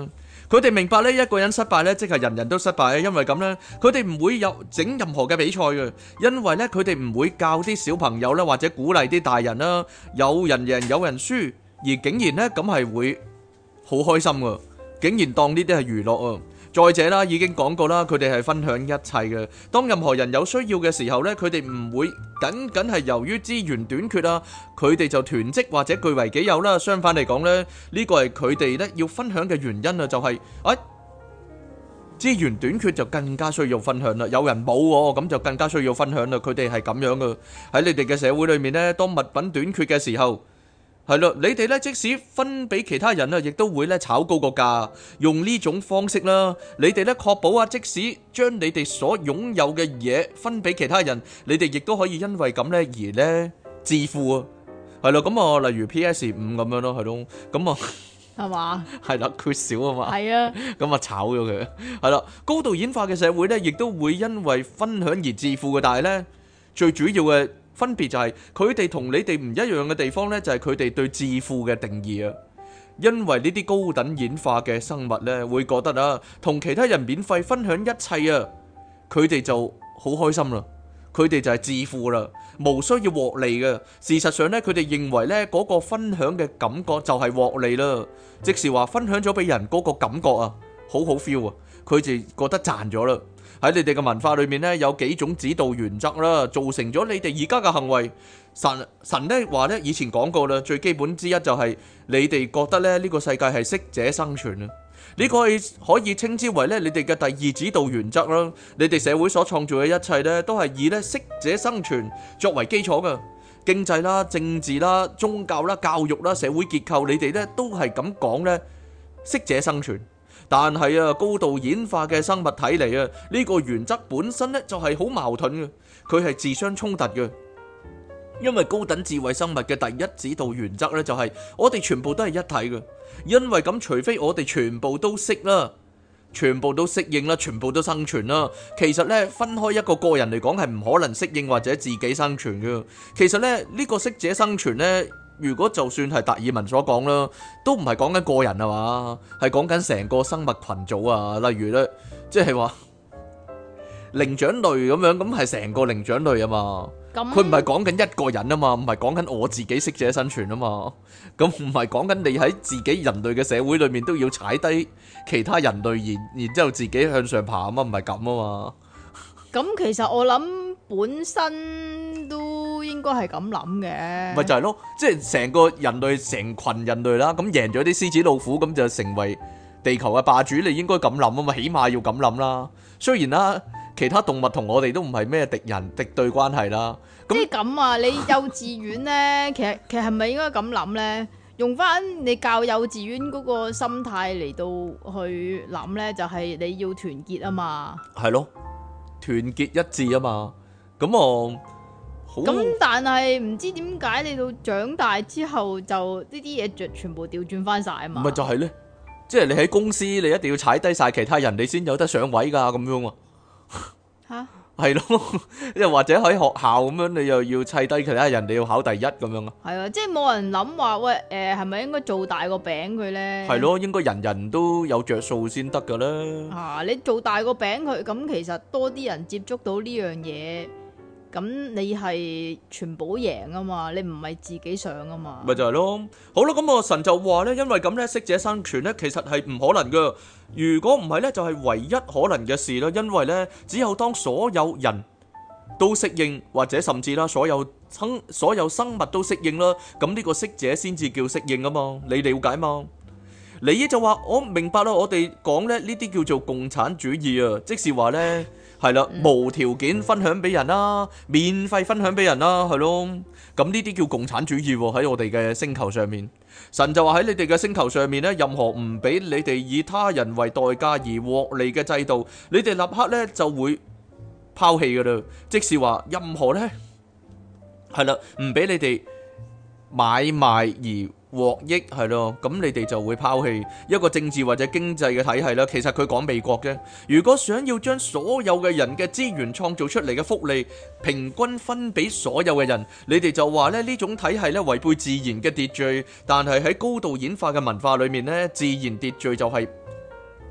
佢哋明白呢，一個人失敗呢，即係人人都失敗，因為咁呢，佢哋唔會有整任何嘅比賽嘅，因為呢，佢哋唔會教啲小朋友啦，或者鼓勵啲大人啦，有人贏有人輸，而竟然呢，咁係會好開心噶，竟然當呢啲係娛樂啊！再者啦，已經講過啦，佢哋係分享一切嘅。當任何人有需要嘅時候呢，佢哋唔會僅僅係由於資源短缺啊，佢哋就囤積或者據為己有啦。相反嚟講呢，呢個係佢哋呢要分享嘅原因啊，就係資源短缺就更加需要分享啦。有人冇喎，咁就更加需要分享啦。佢哋係咁樣噶。喺你哋嘅社會裏面呢，當物品短缺嘅時候，係咯，你哋咧即使分俾其他人啊，亦都會咧炒高個價，用呢種方式啦。你哋咧確保啊，即使將你哋所擁有嘅嘢分俾其他人，你哋亦都可以因為咁咧而咧致富啊。係咯，咁啊，例如 PS5咁樣咯，係咯，咁啊， 係嘛？ 係啦，缺少啊嘛。 係啊， 咁啊炒咗佢。係啦，高度演化嘅社會咧，亦都會因為分享而致富嘅，但係咧最主要嘅分別就係佢哋同你哋唔一樣嘅地方呢，就係佢哋對致富嘅定義啊。因為呢啲高等演化嘅生物呢，會覺得啊，同其他人免費分享一切啊，佢哋就好開心啦。佢哋就係致富啦，無需要獲利嘅。事實上呢，佢哋認為呢嗰個分享嘅感覺就係獲利啦，即是話分享咗俾人嗰個感覺啊，好好 feel 啊，佢哋覺得賺咗啦。喺你哋嘅文化裏面呢，有幾種指導原則啦，造成咗你哋而家嘅行為。神呢話呢，以前講過啦，最基本之一就係你哋覺得咧呢個世界係適者生存啊。呢個可以稱之為咧你哋嘅第二指導原則啦。你哋社會所創造嘅一切呢，都係以咧適者生存作為基礎嘅。經濟啦、政治啦、宗教啦、教育啦、社會結構，你哋呢都係咁講呢，適者生存。但係啊，高度演化嘅生物睇嚟啊，呢個原則本身咧就係好矛盾嘅，佢係自相衝突嘅。因為高等智慧生物嘅第一指導原則咧就係我哋全部都係一體嘅，因為咁除非我哋全部都識啦，全部都適應啦，全部都生存啦，其實咧分開一個個人嚟講係唔可能適應或者自己生存嘅。其實咧呢個適者生存咧，如果就算係達爾文所講啦，都唔係講緊個人啊嘛，係講緊成個生物群組啊。例如咧，即係話靈長類咁樣，咁係成個靈長類啊嘛。佢唔係講緊一個人啊嘛，唔係講緊我自己適者生存啊嘛。咁唔係講緊你喺自己人類嘅社會裏面都要踩低其他人類，然之後自己向上爬啊嘛，唔係咁啊嘛。咁其實我諗本身都應該係咁諗嘅， 咪就係咯，即係成個人類成群人類啦，咁贏咗啲獅子老虎，咁就成為地球嘅霸主，你應該咁諗啊嘛，起碼要咁諗啦。雖然啦，其他動物同我哋都唔係咩敵人敵對關係啦。 即係咁啊，你幼稚園呢，其實係咪應該咁諗呢？用翻你教幼稚園嗰個心態嚟到去諗呢，就係你要團結啊嘛。係咯。 團結一致啊嘛，咁我好。咁但係唔知點解你到長大之後就呢啲嘢就全部調轉翻晒啊嘛。 咪就係咧，即係你喺公司你一定要踩低晒其他人，你先有得上位噶咁樣啊。吓？係咯，又或者喺學校咁樣，你又要砌低其他人，你要考第一咁樣啊。係啊，即係冇人諗話喂，係咪應該做大個餅佢咧？ 係咯，應該人人都有着數先得噶啦。 啊，你做大個餅佢，咁其實多啲人接觸到呢樣嘢，咁你係全部贏啊嘛，你唔係自己上啊嘛。 咪就係咯。好啦，咁神就話咧，因為咁咧，適者生存咧，其實係唔可能噶。如果唔係咧，就係唯一可能嘅事啦。因為咧，只有當所有人都適應，或者甚至啦，所有生物都適應啦，咁呢個適者先至叫適應啊嘛。你了解嘛？尼爾就話：我明白啦，我哋講咧呢啲叫做共產主義啊，即是話咧係啦，無條件分享俾人啦，免費分享俾人啦，係咯。咁呢啲叫共產主義喎，喺我哋嘅星球上面。神就話喺你哋嘅星球上面咧，任何唔俾你哋以他人為代價而獲利嘅制度，你哋立刻咧就會拋棄噶啦。即是話任何咧係啦，唔俾你哋買賣而獲益，係咯，咁你哋就會拋棄一個政治或者經濟嘅體系啦。其實佢講美國嘅，如果想要將所有嘅人嘅資源創造出嚟嘅福利平均分俾所有嘅人，你哋就話咧呢種體系咧違背自然嘅秩序。但係喺高度演化嘅文化裏面咧，自然秩序就係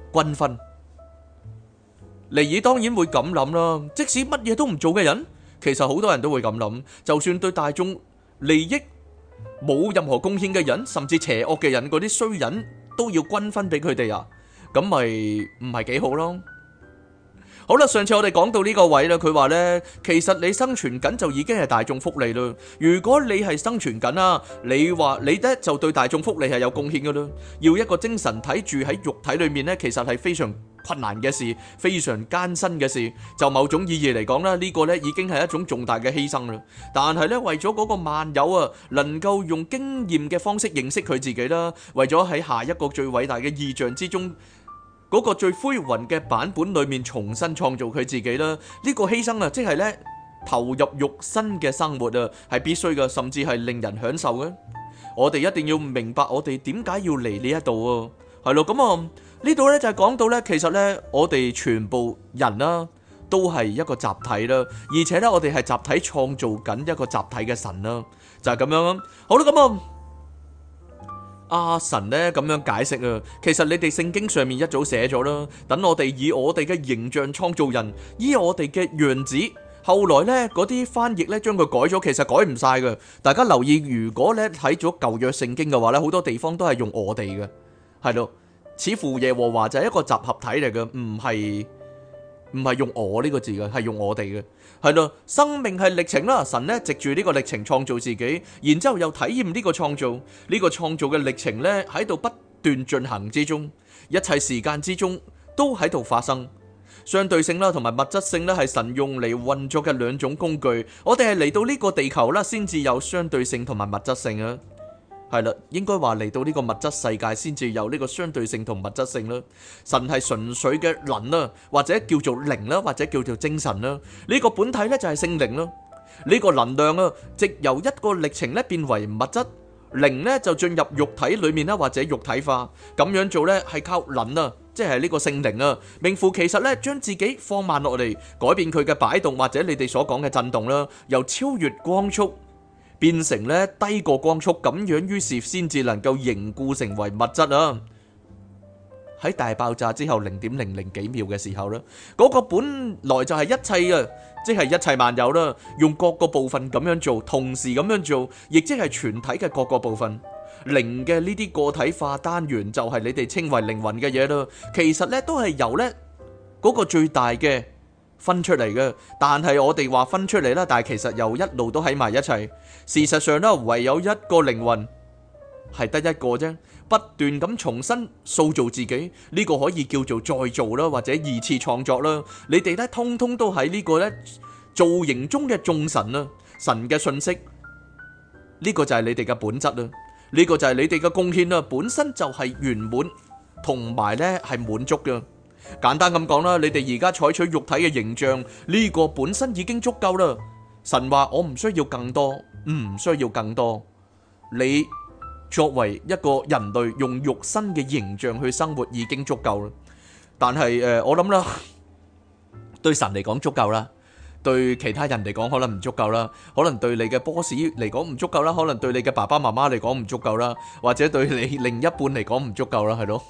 均分。尼爾當然會咁諗啦，即使乜嘢都唔做嘅人，其實好多人都會咁諗，就算對大眾利益冇任何貢獻嘅人，甚至邪惡嘅人，嗰啲衰人都要均分俾佢哋啊，咁咪唔係幾好咯。好啦，上次我哋講到呢個位啦，佢話呢，其實你生存緊就已經係大眾福利啦。如果你係生存緊啊，你話你呢就對大眾福利係有貢獻噶啦。要一個精神體住喺肉體裏面呢，其實係非常困難嘅事，非常艱辛嘅事。就某種意義嚟講啦，呢個呢已經係一種重大嘅犧牲啦。但係呢，為咗嗰個萬有啊，能夠用經驗嘅方式認識佢自己啦，為咗喺下一個最偉大嘅意象之中，嗰個最輝煌嘅版本裏面重新創造佢自己啦，呢個犧牲啊，即係呢投入肉身嘅生活啊，係必須嘅，甚至係令人享受嘅。我哋一定要明白我哋點解要嚟呢一度啊，係咯，咁啊呢度呢就係講到呢，其實呢我哋全部人啦都係一個集體啦，而且呢我哋係集體創造緊一個集體嘅神啦，就係咁樣啊。好啦，咁啊。阿神呢咁樣解釋啊，其實你哋聖經上面一早寫咗啦，等我哋以我哋嘅形象創造人，以我哋嘅樣子。後來呢嗰啲翻譯呢將佢改咗，其實改唔晒嘅。大家留意，如果呢睇咗舊約聖經嘅話呢，好多地方都係用我哋嘅，係咯，似乎耶和華就係一個集合體嚟嘅，唔係用我呢個字嘅，係用我哋嘅，係咯。生命係歷程啦，神呢藉住呢個歷程創造自己，然之後又體驗呢個創造，呢個創造嘅歷程呢喺度不斷進行之中，一切時間之中都喺度發生。相對性啦，同埋物質性咧，係神用嚟運作嘅兩種工具。我哋係嚟到呢個地球啦，先至有相對性同埋物質性啊。係啦，應該話嚟到呢個物質世界先至有呢個相對性同物質性啦。神係純粹嘅能啦，或者叫做靈啦，或者叫做精神啦。呢個本體咧就係聖靈啦。呢個能量啊，藉由一個歷程咧變為物質，靈咧就進入肉體裏面啦，或者肉體化。咁樣做咧係靠能啊，即係呢個聖靈啊，名副其實咧將自己放慢落嚟，改變佢嘅擺動或者你哋所講嘅震動啦，由超越光速變成咧低過光速，咁樣於是先至能夠凝固成為物質啊！喺大爆炸之後0.00幾秒嘅時候咧，嗰個本來就係一切啊，即係一切萬有啦，用各個部分咁樣做，同時咁樣做，亦即係全體嘅各個部分。靈嘅呢啲個體化單元就係你哋稱為靈魂嘅嘢啦，其實咧都係由咧嗰個最大嘅分出嚟嘅，但係我哋話分出嚟啦，但係其實又一路都喺埋一齊。事實上咧，唯有一個靈魂係得一個啫，不斷咁重新塑造自己，呢個可以叫做再造啦，或者二次創作啦。你哋咧通通都喺呢個咧造型中嘅眾神啦，神嘅信息，呢個就係你哋嘅本質啦，呢個就係你哋嘅貢獻啦，本身就係圓滿同埋咧係滿足嘅。簡單咁講啦，你哋而家採取肉體嘅形象，呢個本身已經足夠啦。神話我唔需要更多，唔需要更多。你作為一個人類用肉身嘅形象去生活已經足夠啦。但係我諗啦，對神嚟講足夠啦，對其他人嚟講可能唔足夠啦，可能對你嘅 boss 嚟講唔足夠啦，可能對你嘅爸爸媽媽嚟講唔足夠啦，或者對你另一半嚟講唔足夠啦，係咯。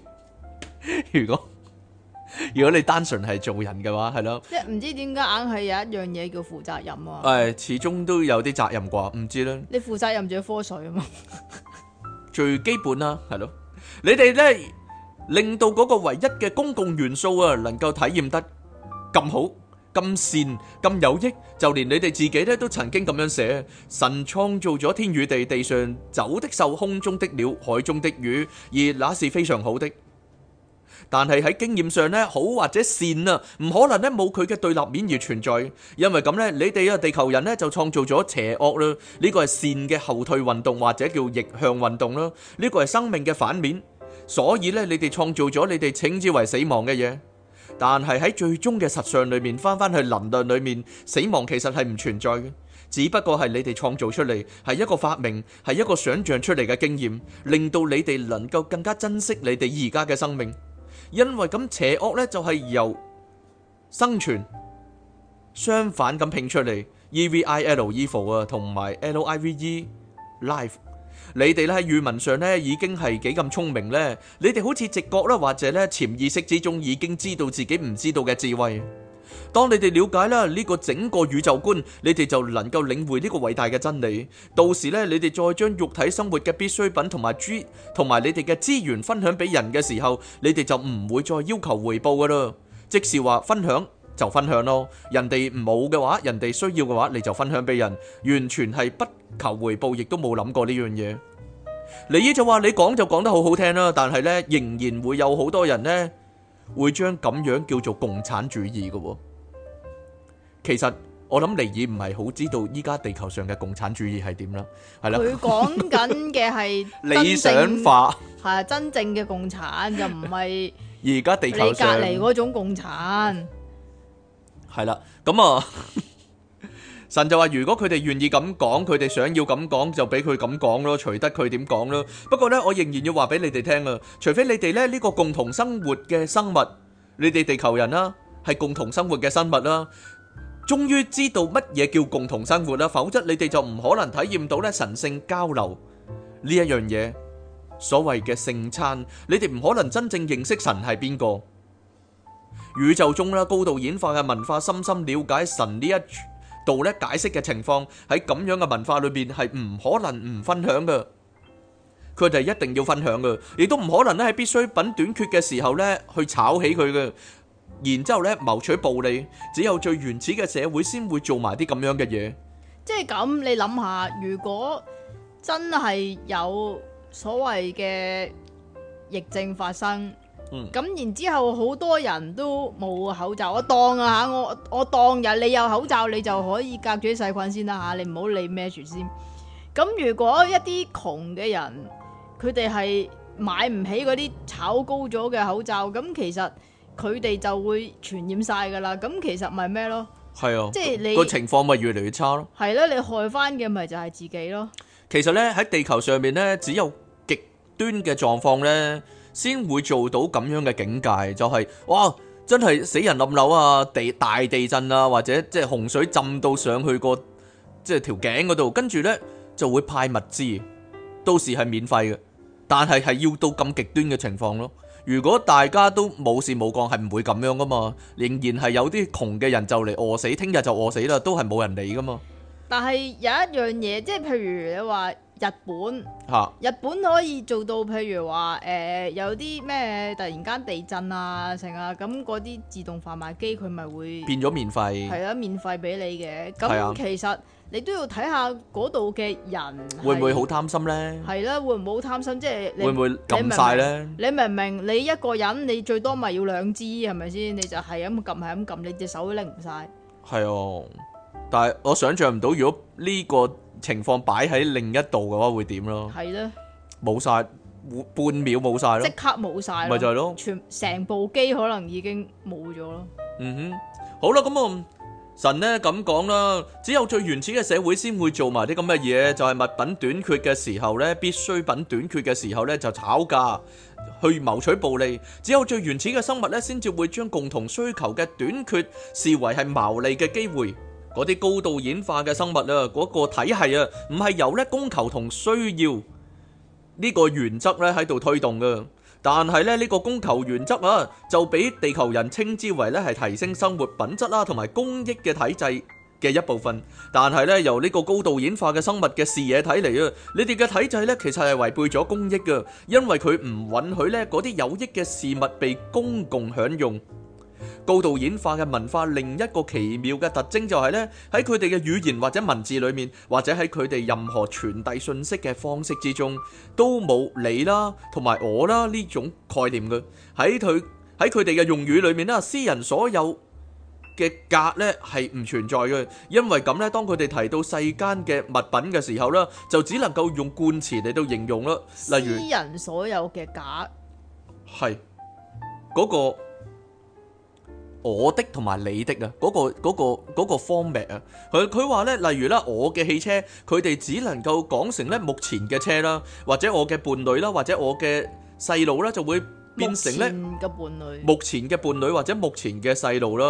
如果你單純係做人嘅話，係咯， 即係唔知點解硬係有一樣嘢叫負責任啊。 始終都有啲責任啩，唔知咧。 你負責任仲要科水啊嘛， 最基本啦，係咯。你哋咧令到嗰個唯一嘅公共元素啊，能夠體驗得咁好、咁善、咁有益，就連你哋自己咧都曾經咁樣寫：神創造咗天與地，地上走的獸、空中的鳥、海中的魚，而那是非常好的。但係喺經驗上咧，好或者善啊，唔可能咧冇佢嘅對立面而存在。因為咁咧，你哋啊地球人咧就創造咗邪惡啦，呢個係善嘅後退運動或者叫逆向運動啦，呢個係生命嘅反面。所以咧，你哋創造咗你哋稱之為死亡嘅嘢。但係喺最終嘅實相裏面，翻返去能量裏面，死亡其實係唔存在嘅，只不過係你哋創造出嚟，係一個發明，係一個想象出嚟嘅經驗，令到你哋能夠更加珍惜你哋而家嘅生命。因為咁邪惡咧就係由生存相反咁拼出嚟 ，evil evil 啊，同埋live life， 你哋咧喺語文上咧已經係幾咁聰明咧，你哋好似直覺啦，或者咧潛意識之中已經知道自己唔知道嘅智慧。當你哋了解啦呢個整個宇宙觀，你哋就能夠領會呢個偉大嘅真理。到時咧，你哋再將肉體生活嘅必需品同埋你哋嘅資源分享俾人嘅時候，你哋就唔會再要求回報噶啦。即是話分享就分享咯，人哋冇嘅話，人哋需要嘅話，你就分享俾人，完全係不求回報，亦都冇諗過呢樣嘢。尼爾就話：你講就講得好好聽啦，但係咧仍然會有好多人咧會將咁樣叫做共產主義嘅。其實我諗尼爾唔係好知道依家地球上嘅共產主義係點啦，係啦。 佢講緊嘅係理想化， 係真正嘅共產，就唔係而家地球上你隔離嗰種共產。 係啦，咁啊，神就話如果佢哋願意咁講，佢哋想要咁講，就俾佢咁講咯，隨得佢點講咯。不過呢，我仍然要話俾你哋聽啊，除非你哋咧呢個共同生活嘅生物，你哋地球人啦，係共同生活嘅生物啦，終於知道乜嘢叫共同生活啦，否則你哋就唔可能體驗到咧神聖交流呢一樣嘢。所謂嘅聖餐，你哋唔可能真正認識神係邊個。宇宙中啦，高度演化嘅文化深深了解神呢一度咧解釋嘅情況，喺咁樣嘅文化裏邊係唔可能唔分享嘅，佢哋一定要分享嘅，亦都唔可能咧喺必需品短缺嘅時候咧去炒起佢嘅，然之後咧謀取暴利。只有最原始嘅社會先會做埋啲咁樣嘅嘢。 即係咁，你諗下，如果真係有所謂嘅疫症發生，咁然之後好多人都冇口罩，我當啊嚇，我當日你有口罩，你就可以隔住啲細菌先啦嚇，你唔好理孭住先。咁如果一啲窮嘅人，佢哋係買唔起嗰啲炒高咗嘅口罩，咁其實佢哋就會傳染晒噶啦。咁其實咪咩咯？ 係啊， 即係你個情況咪越嚟越差咯。 係啦，你害翻嘅咪就係自己咯。 其實咧喺地球上面咧，只有極端嘅狀況咧，先會做到咁樣嘅境界，就係哇，真係死人冧樓啊，大地震啊，或者即係洪水浸到上去個即係條頸嗰度，跟住咧就會派物資，到時係免費嘅，但係要到咁極端嘅情況咯。如果大家都冇事冇幹，係唔會咁樣噶嘛，仍然係有啲窮嘅人就嚟餓死，聽日就餓死啦，都係冇人理噶嘛。但係有一樣嘢，即係譬如你話日本可以做到，譬如話有啲咩突然間地震啊成啊，咁嗰啲自動販賣機佢咪會變咗免費， 係啊，免費俾你嘅。咁其實你都要睇下嗰度嘅人會唔會好貪心呢？ 係啦，會唔會好貪心？即係你會唔會撳晒呢？ 你明唔明？你一個人你最多咪要2支係咪先？你就係咁撳係咁撳，你隻手都拎唔晒。係啊。但係我想象唔到，如果呢個情況擺喺另一度嘅話，會點咯？係咧，冇晒，半秒冇晒咯，即刻冇晒，咪就係咯，成部機可能已經冇咗咯。嗯哼，好啦，咁啊，神呢咁講啦，只有最原始嘅社會先會做埋啲咁嘅嘢，就係物品短缺嘅時候呢，必需品短缺嘅時候呢，就炒價去謀取暴利。只有最原始嘅生物呢，先至會將共同需求嘅短缺視為係牟利嘅機會。嗰啲高度演化嘅生物啊，嗰個體系啊，唔係由咧供求同需要呢個原則咧喺度推動嘅，但係咧呢個供求原則啊，就俾地球人稱之為咧係提升生活品質啦，同埋公益嘅體制嘅一部分。但係咧由呢個高度演化嘅生物嘅視野睇嚟啊，你哋嘅體制咧其實係違背咗公益嘅，因為佢唔允許咧嗰啲有益嘅事物被公共享用。高度演化嘅文化另一個奇妙嘅特徵就係咧，喺佢哋嘅語言或者文字裏面，或者喺佢哋任何傳遞信息嘅方式之中，都冇你啦同埋我啦呢種概念嘅。喺佢哋嘅用語裏面啦，私人所有嘅格咧係唔存在嘅，因為咁咧，當佢哋提到世間嘅物品嘅時候咧，就只能夠用冠詞嚟到形容啦。例如私人所有嘅格係嗰個。我的同埋你的啊，嗰個 format 啊，佢話咧，例如啦，我嘅汽車，佢哋只能夠講成咧目前嘅車啦，或者我嘅伴侶啦，或者我嘅細路啦，就會變成咧目前嘅伴侶或者目前嘅細路啦，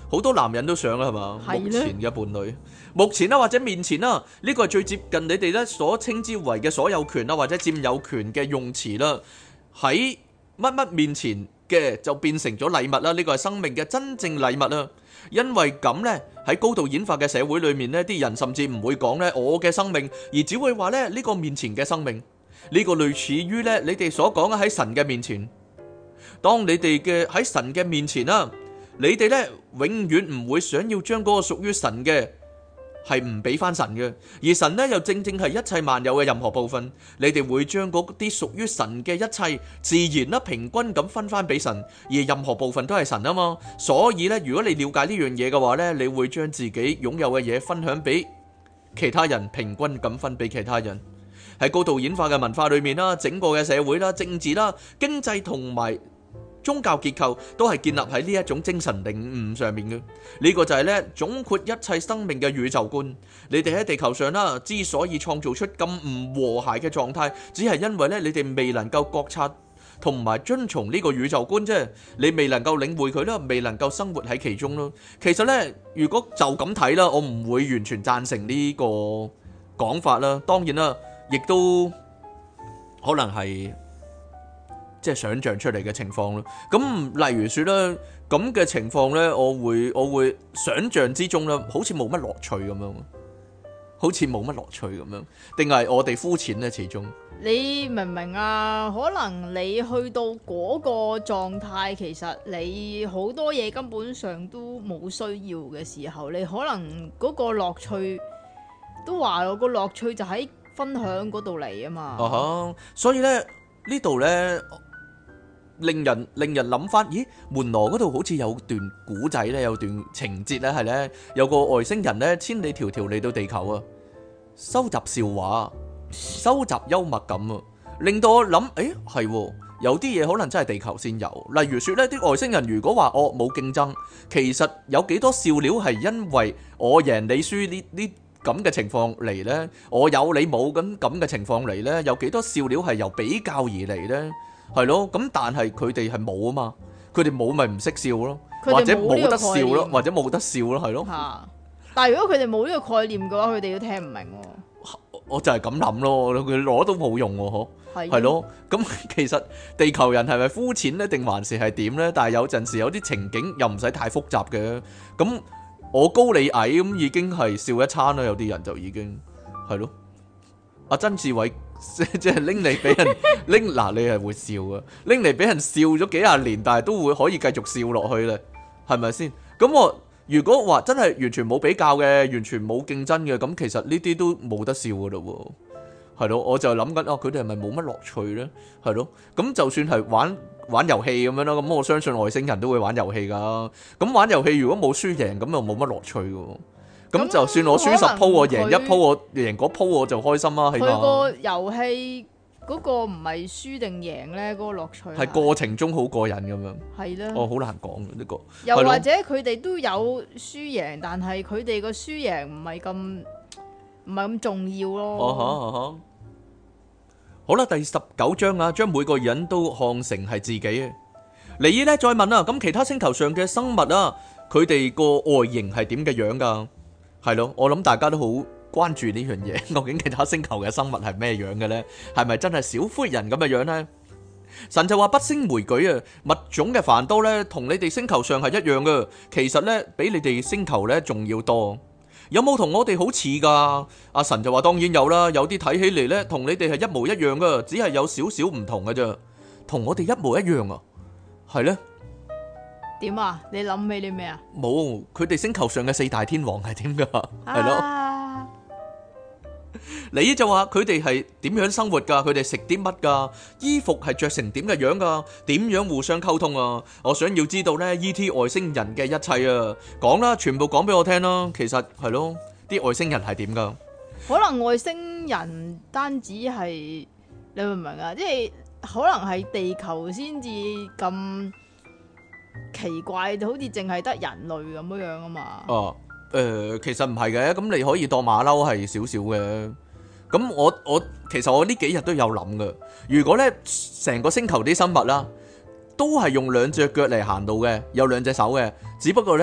好多男人都想啦，係嘛？ 係目前嘅伴侶，目前啦或者面前啦，呢個係最接近你哋咧所稱之為嘅所有權啦或者佔有權嘅用詞啦。喺乜乜面前嘅就變成咗禮物啦，呢個係生命嘅真正禮物啦。因為咁呢，喺高度演化嘅社會裏面呢，啲人甚至唔會講呢我嘅生命，而只會話呢個面前嘅生命。呢個類似於呢你哋所講嘅喺神嘅面前。當你哋嘅喺神嘅面前啦，你哋呢永遠唔會想要將嗰個屬於神嘅係唔俾翻神嘅，而神呢又正正係一切萬有嘅任何部分。你哋會將嗰啲屬於神嘅一切自然啦平均咁分翻俾神，而任何部分都係神啊嘛。所以呢，如果你了解呢樣嘢嘅話呢，你會將自己擁有嘅嘢分享俾其他人，平均咁分俾其他人。喺高度演化嘅文化裏面啦，整個嘅社會啦、政治啦、經濟同埋宗教結構都係建立喺呢一種精神領悟上面嘅。呢個就係咧總括一切生命嘅宇宙觀。你哋喺地球上啦，之所以創造出咁唔和諧嘅狀態，只係因為咧你哋未能夠覺察同埋遵從呢個宇宙觀啫。你未能夠領會佢啦，未能夠生活喺其中咯。其實咧，如果就咁睇啦，我唔會完全贊成呢個講法啦。當然啦，亦都可能係即係想像出嚟嘅情況咯。咁例如說咧，咁嘅情況咧，我會想像之中咧，好似冇乜樂趣咁樣，好似冇乜樂趣咁樣，定係我哋膚淺咧？始終你明唔明啊？可能你去到嗰個狀態，其實你好多嘢根本上都冇需要嘅時候，你可能嗰個樂趣都話咯，個樂趣就喺分享嗰度嚟啊嘛。 所以咧呢度咧令人諗翻，咦？門羅嗰度好似有段古仔咧，有段情節咧，係咧有個外星人咧千里迢迢嚟到地球啊，收集笑話，收集幽默感啊，令到我諗，係有啲嘢可能真係地球先有。例如說咧，啲外星人如果話我冇競爭，其實有幾多笑料係因為我贏你輸呢咁嘅情況嚟呢？我有你冇咁嘅情況嚟呢？有幾多笑料係由比較而嚟呢？係咯，咁但係佢哋係冇啊嘛，佢哋冇咪唔識笑咯，或者冇得笑咯，或者冇得笑咯，係咯。 但係如果佢哋冇呢個概念嘅話，佢哋都聽唔明。 我就係咁諗咯，佢攞都冇用喎，係咯。咁其實地球人係咪膚淺呢？定還是係點呢？但係有陣時有啲情景又唔使太複雜嘅。咁我高你矮咁已經係笑一餐啦，有啲人就已經係咯。阿曾志偉即係拎嚟俾人拎嗱，你係會笑啊，拎嚟俾人笑咗幾廿年，但係都會可以繼續笑落去咧，係咪先？咁我如果話真係完全冇比較嘅，完全冇競爭嘅，咁其實呢啲都冇得笑噶咯，係咯。我就諗緊佢哋係咪冇乜樂趣咧？係咯。咁就算係玩遊戲咁樣啦，咁我相信外星人都會玩遊戲噶。咁玩遊戲如果冇輸贏，咁又冇乜樂趣噶。咁就算我輸10鋪，我贏1鋪，我贏嗰鋪我就開心啦。起碼佢個遊戲嗰個唔係輸定贏咧，嗰個樂趣係過程中好過癮咁樣。 係啦， 好難講呢個。 又或者佢哋都有輸贏，但係佢哋個輸贏唔係咁重要咯。 好啦，第19章啊，將每個人都看成係自己啊。尼爾咧再問啊，咁其他星球上嘅生物啊，佢哋個外形係點嘅樣噶？係咯，我諗大家都好關注呢樣嘢，究竟其他星球嘅生物係咩樣嘅呢？係咪真係小灰人咁嘅樣呢？神就話不勝枚舉啊，物種嘅繁多呢，同你哋星球上係一樣嘅，其實呢，比你哋星球呢仲要多。有冇同我哋好似噶？阿神就話當然有啦，有啲睇起嚟呢，同你哋係一模一樣噶，只係有少少唔同嘅啫。同我哋一模一樣啊？係呢？ 點啊？你諗起啲咩啊？ 冇，佢哋星球上嘅4大天王係點噶？係咯。你就話佢哋係點樣生活噶？佢哋食啲乜噶？衣服係着成點嘅樣噶？點樣互相溝通啊？我想要知道呢 E.T. 外星人嘅一切啊！講啦，全部講俾我聽啦。其實係咯，啲外星人係點噶？ 可能外星人單止係你明唔明啊？即係可能係地球先至咁奇怪，好似淨係得人類咁樣啊嘛。 其實唔係嘅，咁你可以當馬騮係少少嘅。咁其實我呢幾日都有諗嘅。如果咧成個星球啲生物啦，都係用2隻腳嚟行路嘅，有2隻手嘅，只不過咧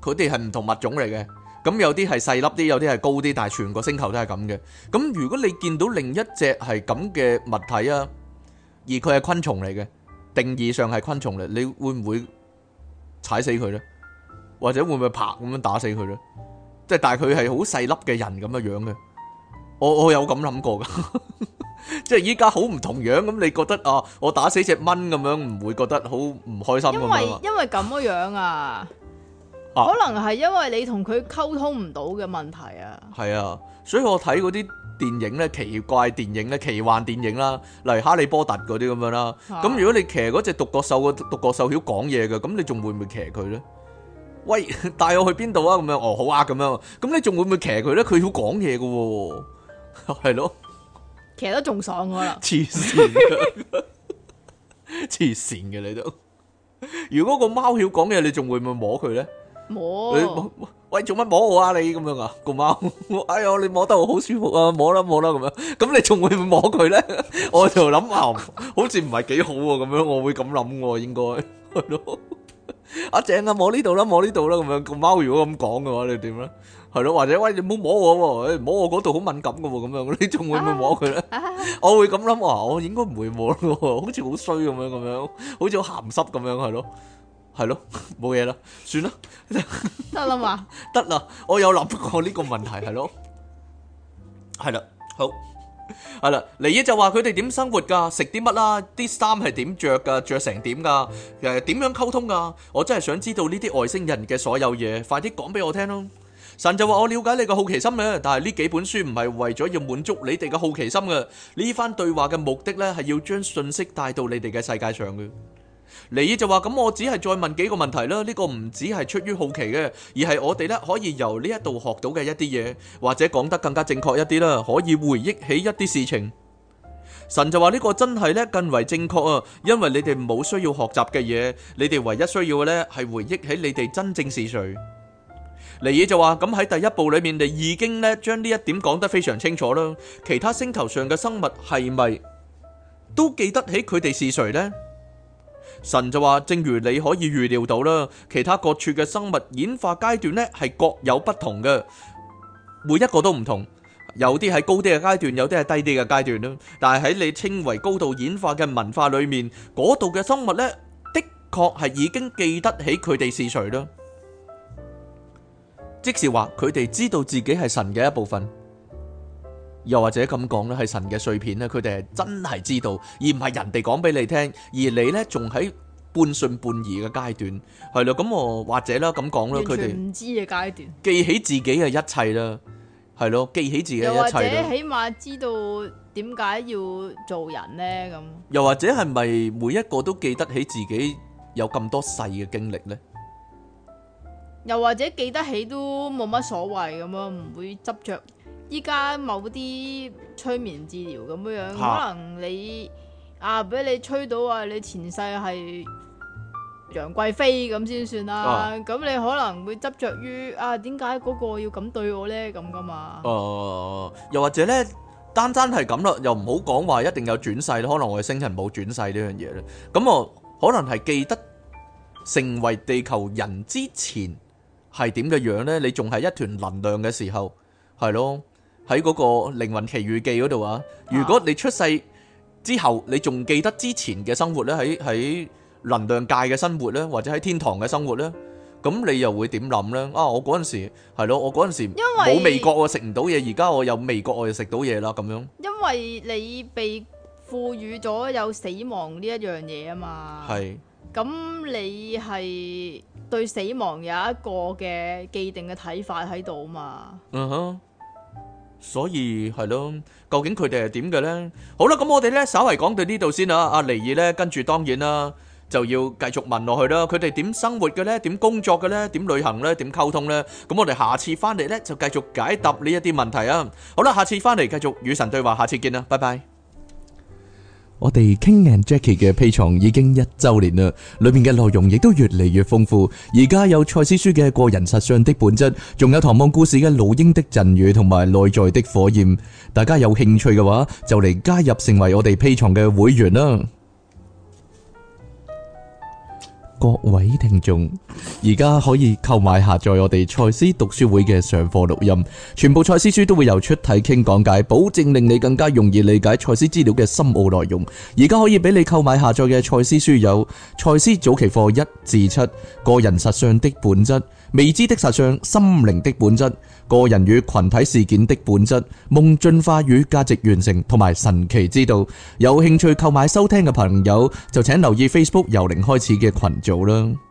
佢哋係唔同物種嚟嘅。咁有啲係細粒啲，有啲係高啲，但係全個星球都係咁嘅。咁如果你見到另一隻係咁嘅物體啊，而佢係昆蟲嚟嘅，定義上係昆蟲嚟，你會唔會踩死佢呢？或者會唔會拍咁樣打死佢呢？即係但係佢係好細粒嘅人咁嘅樣嘅。我有咁諗過噶，即係依家好唔同樣咁，你覺得啊，我打死隻蚊咁樣，唔會覺得好唔開心咁樣？ 因為咁樣啊。可能係因為你同佢溝通唔到嘅問題啊。 係啊，所以我睇嗰啲電影咧，奇怪電影咧，奇幻電影啦，例如哈利波特嗰啲咁樣啦。咁如果你騎嗰隻獨角獸，個獨角獸曉講嘢嘅，咁你仲會唔會騎佢咧？喂，帶我去邊度啊？咁樣哦，好啊，咁樣。咁你仲會唔會騎佢咧？佢曉講嘢嘅，係咯， 騎得仲爽噶啦。 黐線嘅，黐線嘅你都。如果個貓曉講嘢，你仲會唔會摸佢咧？ 摸， 喂，做乜摸我啊？你咁樣啊，個貓，哎呀，你摸得我好舒服啊，摸啦摸啦咁樣，咁你仲會唔會摸佢咧？我就諗好似唔係幾好喎，咁樣我會咁諗喎，應該係咯。阿正啊，摸呢度啦，摸呢度啦，咁樣個貓如果咁講嘅話，你點咧？係咯，或者喂，你唔好摸我喎，摸我嗰度好敏感嘅喎，咁樣你仲會唔會摸佢咧？我會咁諗話，我應該唔會摸咯，好似好衰咁樣，好似好鹹濕咁樣，係咯。係咯，冇嘢啦，算啦， 得啦嘛， 得啦，我有諗過呢個問題，係咯，係啦，好，係啦，尼爾就話佢哋點生活噶，食啲乜啦，啲衫係點着噶，着成點噶，點樣溝通噶，我真係想知道呢啲外星人嘅所有嘢，快啲講俾我聽咯。神就話我了解你嘅好奇心咧，但係呢幾本書唔係為咗要滿足你哋嘅好奇心嘅，呢番對話嘅目的咧係要將信息帶到你哋嘅世界上嘅。尼爾就話咁，我只係再問幾個問題啦。呢個唔只係出於好奇嘅，而係我哋咧可以由呢一度學到嘅一啲嘢，或者講得更加正確一啲啦，可以回憶起一啲事情。神就話呢個真係咧更為正確啊，因為你哋冇需要學習嘅嘢，你哋唯一需要嘅咧係回憶起你哋真正是誰。尼爾就話咁喺第一步裏面，你已經咧將呢一點講得非常清楚啦。其他星球上嘅生物係咪都記得起佢哋是誰呢？神就話，正如你可以預料到啦，其他各處嘅生物演化階段呢係各有不同嘅，每一個都唔同，有啲係高啲嘅階段，有啲係低啲嘅階段啦。但係喺你稱為高度演化嘅文化裏面，嗰度嘅生物呢，的確係已經記得起佢哋是誰啦。即是話佢哋知道自己係神嘅一部分。又或者咁講咧，係神嘅碎片咧，佢哋係真係知道，而唔係人哋講俾你聽，而你咧仲喺半信半疑嘅階段，係咯，咁我或者啦咁講啦，佢哋唔知嘅階段， 記起自己嘅一切啦，係咯，記起自己嘅一切啦，又或者起碼知道點解要做人咧咁， 又或者係咪每一個都記得起自己有咁多世嘅經歷咧？ 又或者記得起都冇乜所謂咁樣，唔會執着。依家某啲催眠治療咁樣，可能你俾你吹到你前世係楊貴妃咁先算啦。咁你可能會執着於點解嗰個要咁對我呢？咁噶嘛？ 又或者呢，單係咁啦，又唔好講話一定有轉世，可能我哋星人冇轉世呢樣嘢咧。咁我可能係記得成為地球人之前係點嘅樣呢？你仲係一團能量嘅時候，係咯。喺嗰個靈魂奇遇記嗰度啊，如果你出世之後，你仲記得之前嘅生活咧，喺能量界嘅生活咧，或者喺天堂嘅生活咧，咁你又會點諗咧？我嗰陣時係咯，我嗰陣時冇味覺，我食唔到嘢，而家我有味覺，我就食到嘢啦，咁樣。因為你被賦予咗有死亡呢一樣嘢啊嘛。係。咁你係對死亡有一個嘅既定嘅睇法喺度啊嘛。嗯哼。所以係咯，究竟佢哋係點嘅呢？好啦，咁我哋呢稍為講到呢度先啦。阿尼爾呢跟住當然啦，就要繼續問落去啦。佢哋點生活嘅呢？點工作嘅呢？點旅行呢？點溝通呢？咁我哋下次翻嚟呢就繼續解答呢一啲問題啊。好啦，下次翻嚟繼續與神對話，下次見啦，拜拜。我哋 King and Jackie 嘅 Patreon 已經1周年啦，裏面嘅內容亦都越嚟越豐富。而家有賽斯書嘅個人實相的本質，仲有唐望故事嘅老鷹的贈語同埋內在的火焰。大家有興趣嘅話，就嚟加入成為我哋 Patreon嘅會員啦。 各位聽眾，而家可以購買下載我哋賽斯讀書會嘅上課錄音，全部賽斯書都會由出體傾講解，保證令你更加容易理解賽斯資料嘅深奧內容。而家可以俾你購買下載嘅賽斯書有賽斯早期課1至7、個人實相的本質、未知的實相、心靈的本質、個人與群體事件的本質、夢進化與價值完成同埋神奇之道。有興趣購買收聽嘅朋友就請留意 Facebook 由零開始嘅群組啦。